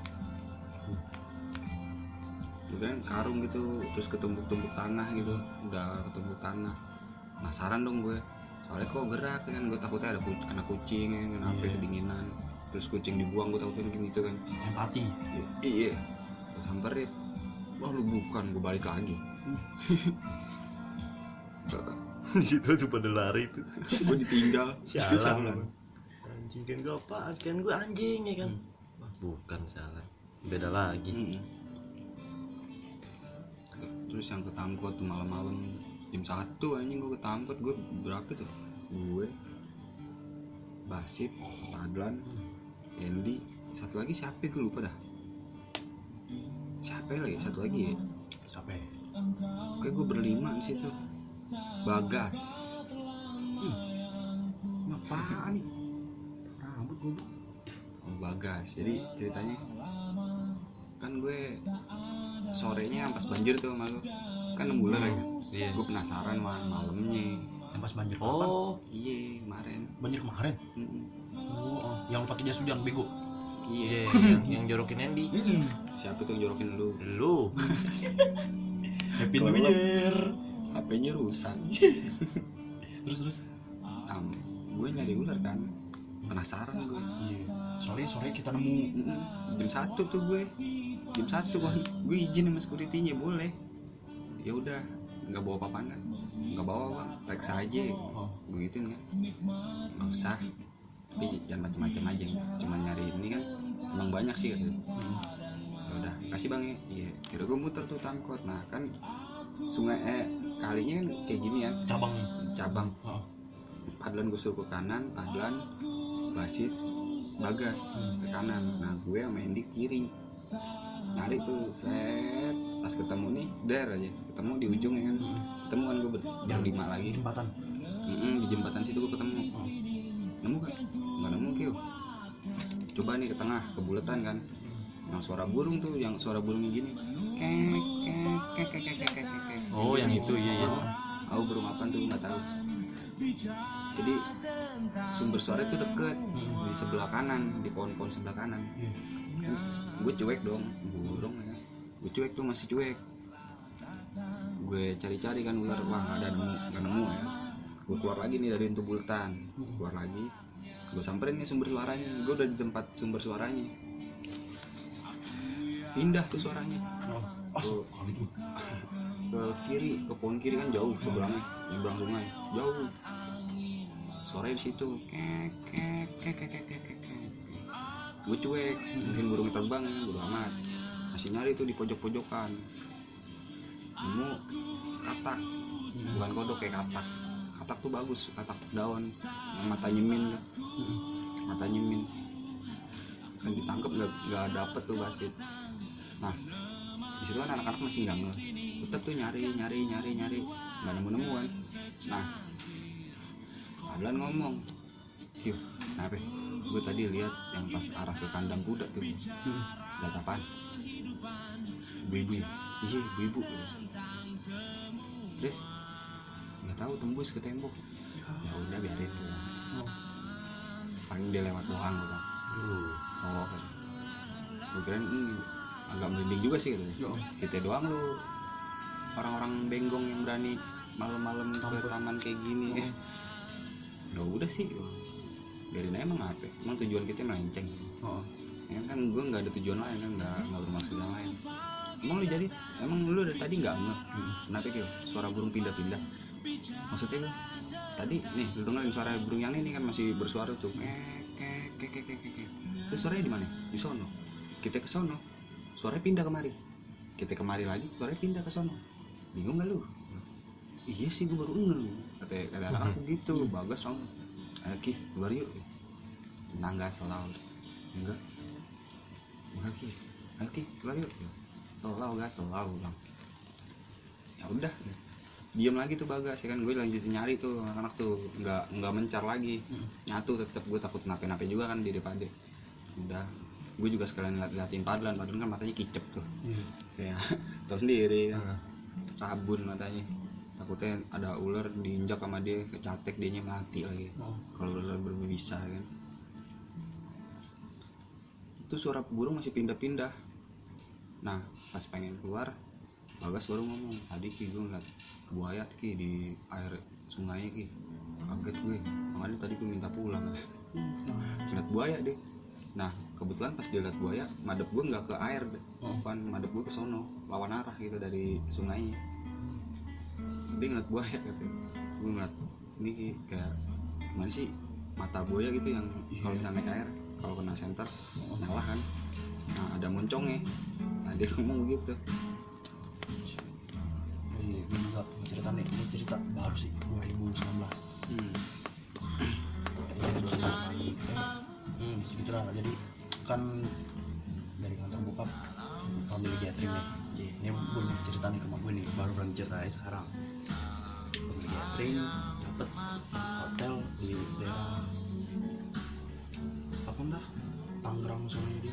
Gue kira karung gitu, terus ketumbuk-tumbuk tanah gitu, udah ketumbuk tanah. Penasaran dong gue, soalnya kok gerak kan, gue takutnya ada anak kucing kan, kenapa Iya. kedinginan, terus kucing dibuang, gue takutnya gitu kan. Empati. Iya, gue samperin, wah lu bukan, gue balik lagi. Di situ langsung pada lari itu. Gue ditinggal. Sialan. Anjing kan gue apaan? Kan gue anjing ya kan. Wah, bukan salah. Beda lagi. Terus yang ketangkot tuh malam-malam jam 1 anjing gue ketangkot. Gue berapa tuh? Gue Basit, Padlan, Andy, satu lagi siapa gue lupa dah. Siapa lagi? Satu lagi ya. Siapa ya? Oke, gue berlima di situ. Bagas. Apaan nih? Rambut gue. Oh, Bagas. Jadi ceritanya kan gue sorenya pas banjir tuh sama lu. Kan 6 bulan ya. Iya. Gue penasaran malamnya. Yang pas banjir kapan? Oh, Iya, kemarin. Banjir kemarin. Oh, yang pakai jas hujan bego. Iya. iya yang jorokin Andy. Siapa tuh yang jorokin lu? Lu. Happy New Year. HP-nya rusak. Terus. Gue nyari ular kan. Penasaran gue. Iya. Sore kita nemu. Jam 1 tuh gue. Jam 1 kan. Gue izin sama security-nya boleh. Ya udah, enggak bawa apa-apaan kan. Enggak bawa, Bang. Periksa aja. Oh. Gue gituin kan. Enggak usah. Tapi jangan macam-macam aja. Cuma nyari ini kan. Emang banyak sih katanya. Ya udah, kasih Bang ya. Iya. Kira gue muter tuh tangkot. Nah, kan sungai kalinya kan kayak gini ya. Cabang. Oh. Padlan gue suruh ke kanan, Padlan, Basit, Bagas ke kanan. Nah gue sama Andy kiri. Nyari tuh, set. Pas ketemu nih, der aja. Ketemu di ujung ya kan. Ketemu kan gue berlima lagi. Jembatan. Di jembatan situ gue ketemu. Nemu kan? Nggak nemu Kyo. Coba nih ke tengah, ke buletan kan. Yang suara burung tuh, yang suara burungnya gini. Kek. Oh, yang itu iya. Tahu burung apaan tuh nggak tahu. Jadi sumber suara itu deket di sebelah kanan, di pohon-pohon sebelah kanan. Gue cuek dong, burung ya. Gue cuek tuh, masih cuek. Gue cari-cari kan ular, wah nggak nemu ya. Gue keluar lagi nih dari pintu bultan, keluar lagi. Gue samperin nih sumber suaranya. Gue udah di tempat sumber suaranya. Pindah tuh suaranya. Tuh, ke kiri, ke pohon kiri kan jauh seberangnya, nyebrang sungai, jauh. Sore di situ, kek. Gue cuek, mungkin burungnya terbang ya, bodo amat. Masih nyari tuh di pojok-pojokan. Nemu katak, bukan kodok kayak katak. Katak tuh bagus, katak daun, yang mata nyemin, kan ditangkap nggak dapet tuh Basit. Nah, di situ kan anak-anak masih nggak ngeh, tetap tuh nyari, nggak nemu kan. Nah, Padlan ngomong, Kyo, kenapa? Gue tadi lihat yang pas arah ke kandang kuda tuh, lihat apaan? Ibu-ibu ya? Iya, ibu-ibu. Terus nggak tahu tembus ke tembok. Ya udah biarin. paling dia lewat doang gue bilang. Oh kan, gue kirain agak merinding juga sih katanya. Kita doang lu orang-orang benggong yang berani malam-malam ke taman kayak gini. Ya udah sih, biarin aja. Emang apa? Emang tujuan kita melenceng. Ya kan gue nggak ada tujuan lain kan, nggak bermaksud yang lain. Emang lu dari tadi nggak ngeh? Kenapa gitu? Suara burung pindah-pindah. Maksudnya gue tadi nih lu dengerin suara burung yang ini kan masih bersuara tuh. Terus suaranya di mana? Di sono. Kita ke sono, suaranya pindah kemari. Kita kemari lagi, suaranya pindah ke sono. Bingung nggak lu? Iya sih, gue baru ngeh. Kata anak-anak gitu. Bagus dong. Ayo Ki, keluar yuk. Nangga selalu. Enggak Ki. Ayo Ki, keluar yuk. Selalu bang. Ya udah. Diam lagi tuh Bagas ya kan, gue lanjutin nyari tuh anak-anak tuh, nggak mencar lagi. Nyatu tetap, gue takut nape-nape juga kan di depan deh. Udah, gue juga sekalian liatin Padlan kan matanya kicep tuh. Kayak tau sendiri kan. Rabun matanya. Takutnya ada ular diinjak sama dia, kecatek dianya mati lagi. Kalau ular berbisa kan. Itu suara burung masih pindah-pindah. Nah, pas pengen keluar, Bagas baru ngomong, tadi Ki gue ngeliat buaya Ki di air sungainya Ki. Kaget gue, makanya tadi gue minta pulang. Ngeliat buaya deh. Nah, kebetulan pas dia liat buaya, madep gue nggak ke air, bukan madep gue ke sono, lawan arah gitu dari sungainya. Dia ngeliat buaya gitu. Gue ngeliat ini kayak gimana sih mata buaya gitu yang kalau misalnya naik air, kalau kena senter nyala kan. Nah, ada moncongnya. Nah, dia ngomong gitu. Iya, gue juga cerita nih, ini cerita baru sih 2019. Ya 2019 lagi. Segitu lah. Jadi kan dari kantor bokap kami di gathering nih. Ini gue cerita nih ke mak gue nih, baru berani cerita sekarang. Gue di gathering, dapet hotel di daerah apa dah? Tangerang sana jadi.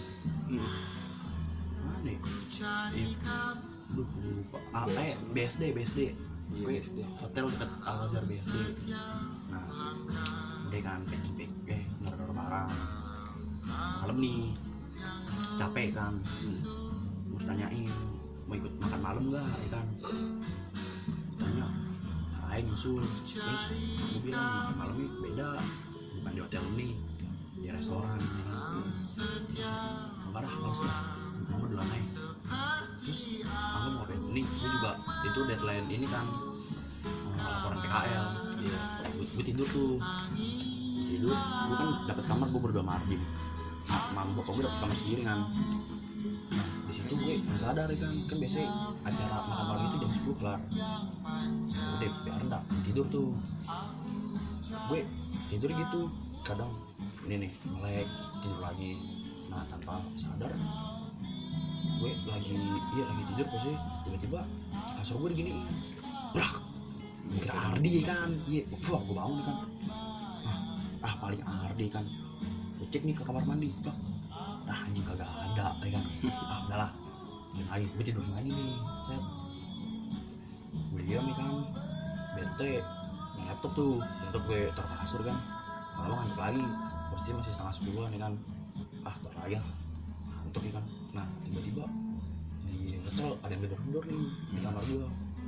Mana? Duh, lupa. BSD. Gue hotel dekat Al-Azhar BSD. Nah, dia kan pecipik, ngeror barang. Malam nih, capek kan. Gue tanyain, mau ikut makan malam nggak? Ya kan? Tanya, ayo nyusul. Terus gue bilang makan malamnya beda, bukan di hotel ini, di restoran. Enggak dah, males lah. Mama duluan aja. Terus aku mau ngapain? Nih, gue juga itu deadline ini kan laporan PKL. Gue tidur tuh. Gue kan dapat kamar, gue berdua sama Ardi. Mam bokap gue dapat kamar sendiri kan. Nah, di situ gue nggak sadar ya kan biasanya acara makan malam itu jam 10 kelar. Udah biar enggak tidur tuh. Gue tidur gitu, kadang ini nih melek tidur lagi. Nah, tanpa sadar gue lagi tidur posisi tiba-tiba kasur gue diginiin, brak, kira Ardi kan, wah gue bangun kan, paling Ardi kan, gue cek nih ke kamar mandi, anjing kagak ada, ya kan, udahlah, lagi gue tidur lagi nih, set, gue diam nih kan, bete, laptop gue taruh ke kasur kan, malam ngantuk lagi, posisi masih setengah 10-an ya kan, taruh lagi lah, ngantuk ya kan. Nah, tiba-tiba di hotel ada yang gedor-gedor nih di kamar gue.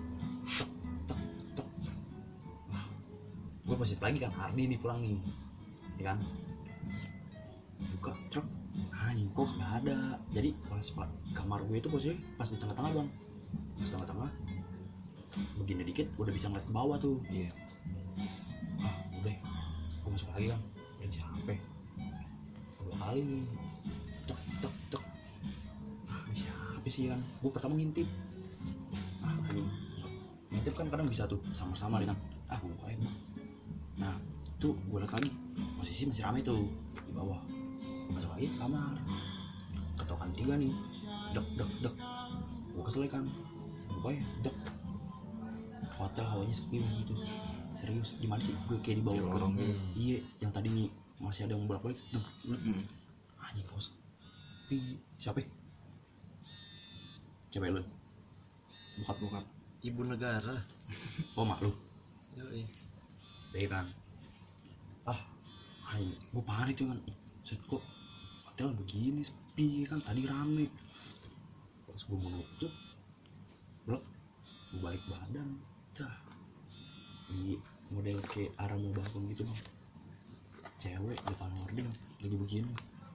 Tek. Wah, gue positif lagi kan, Ardi nih pulang nih, ya kan? Buka truk, anjing kok nggak ada. Jadi pas kamar gue itu posisi pas di tengah-tengah bang, pas tengah-tengah, begini dikit udah bisa ngeliat ke bawah tuh. Iya. Udah, gue masuk lagi kan, udah capek. 2 kali nih, tek. Siapa sih kan? Gue pertama ngintip. Ngintip kan kadang bisa tuh sama-sama kan. Gue buka aja. Nah, tuh gue liat lagi posisi masih ramai tuh di bawah. Masuk lagi ke kamar. Ketokan 3 nih. Dek. Gue kesel kan. Buka ya, dek. Hotel hawanya sepi gitu. Serius, gimana sih? Gue kayak di bawah lorong gitu. Iya, yang tadinya masih ada yang bolak-balik. Anjing kos. Siapa? Cewek lu? Bokap? Ibu negara. Oh, mak lu? Yoi. Deh kan. gue panik tuh kan, set kok hotel begini sepi kan, tadi rame. Pas gue mau nutup, blok, gue balik badan, dah di model kayak arah mau bangun gitu bang, cewek depan hording lagi begini.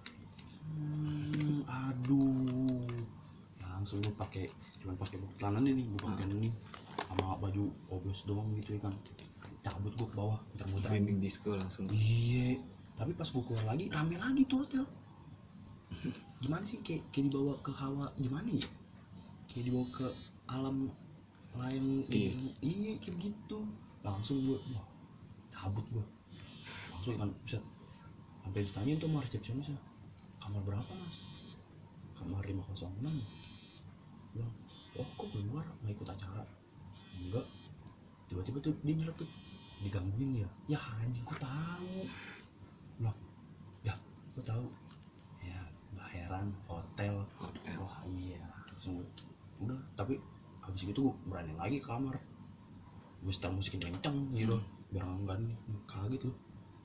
Aduh, langsung gue cuman pakai celana nih, gue pakai ini sama baju obes doang gitu ya kan, cabut gue ke bawah, muter-muter Trending disco langsung. iya. Tapi pas gue keluar lagi rame lagi tuh hotel. Gimana sih, kayak dibawa ke hawa gimana ya, kayak dibawa ke alam lain. Iya kayak gitu. Langsung gue wah cabut gue langsung kan, bisa sampai ditanyain tuh sama resepsionisnya, kamar berapa mas? Kamar 506. Bilang, oh kok keluar nggak ikut acara? Enggak. Tiba-tiba tuh dia nyelot tuh, digangguin ya. Ya anjing, kok tahu? Bilang, ya kok tahu? Ya bayaran hotel. Wah iya, langsung udah. Tapi habis itu gue berani lagi ke kamar, gue setel musikin kenceng gitu biar enggak nih kaget lu.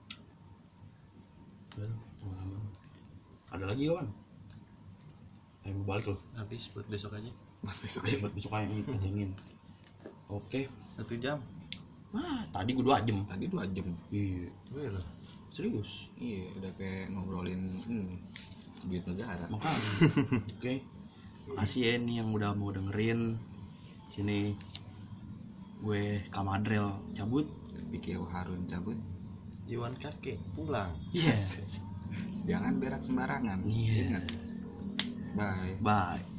Udah pengalaman. Ada lagi kawan? Ayo balik lo. Habis buat besok aja. Buat besok aja yang pentingin. Oke. 1 jam. Wah, tadi gue 2 jam. Tadi 2 jam. Iya. Wih lah. Serius. Iya, udah kayak ngobrolin duit negara. Makanya. Oke. Makasih ya nih yang udah mau dengerin. Sini gue Kamadrel cabut. Pikir Harun cabut. Iwan kakek pulang. Yes. Jangan berak sembarangan. Iya. Ingat. Bye. Bye.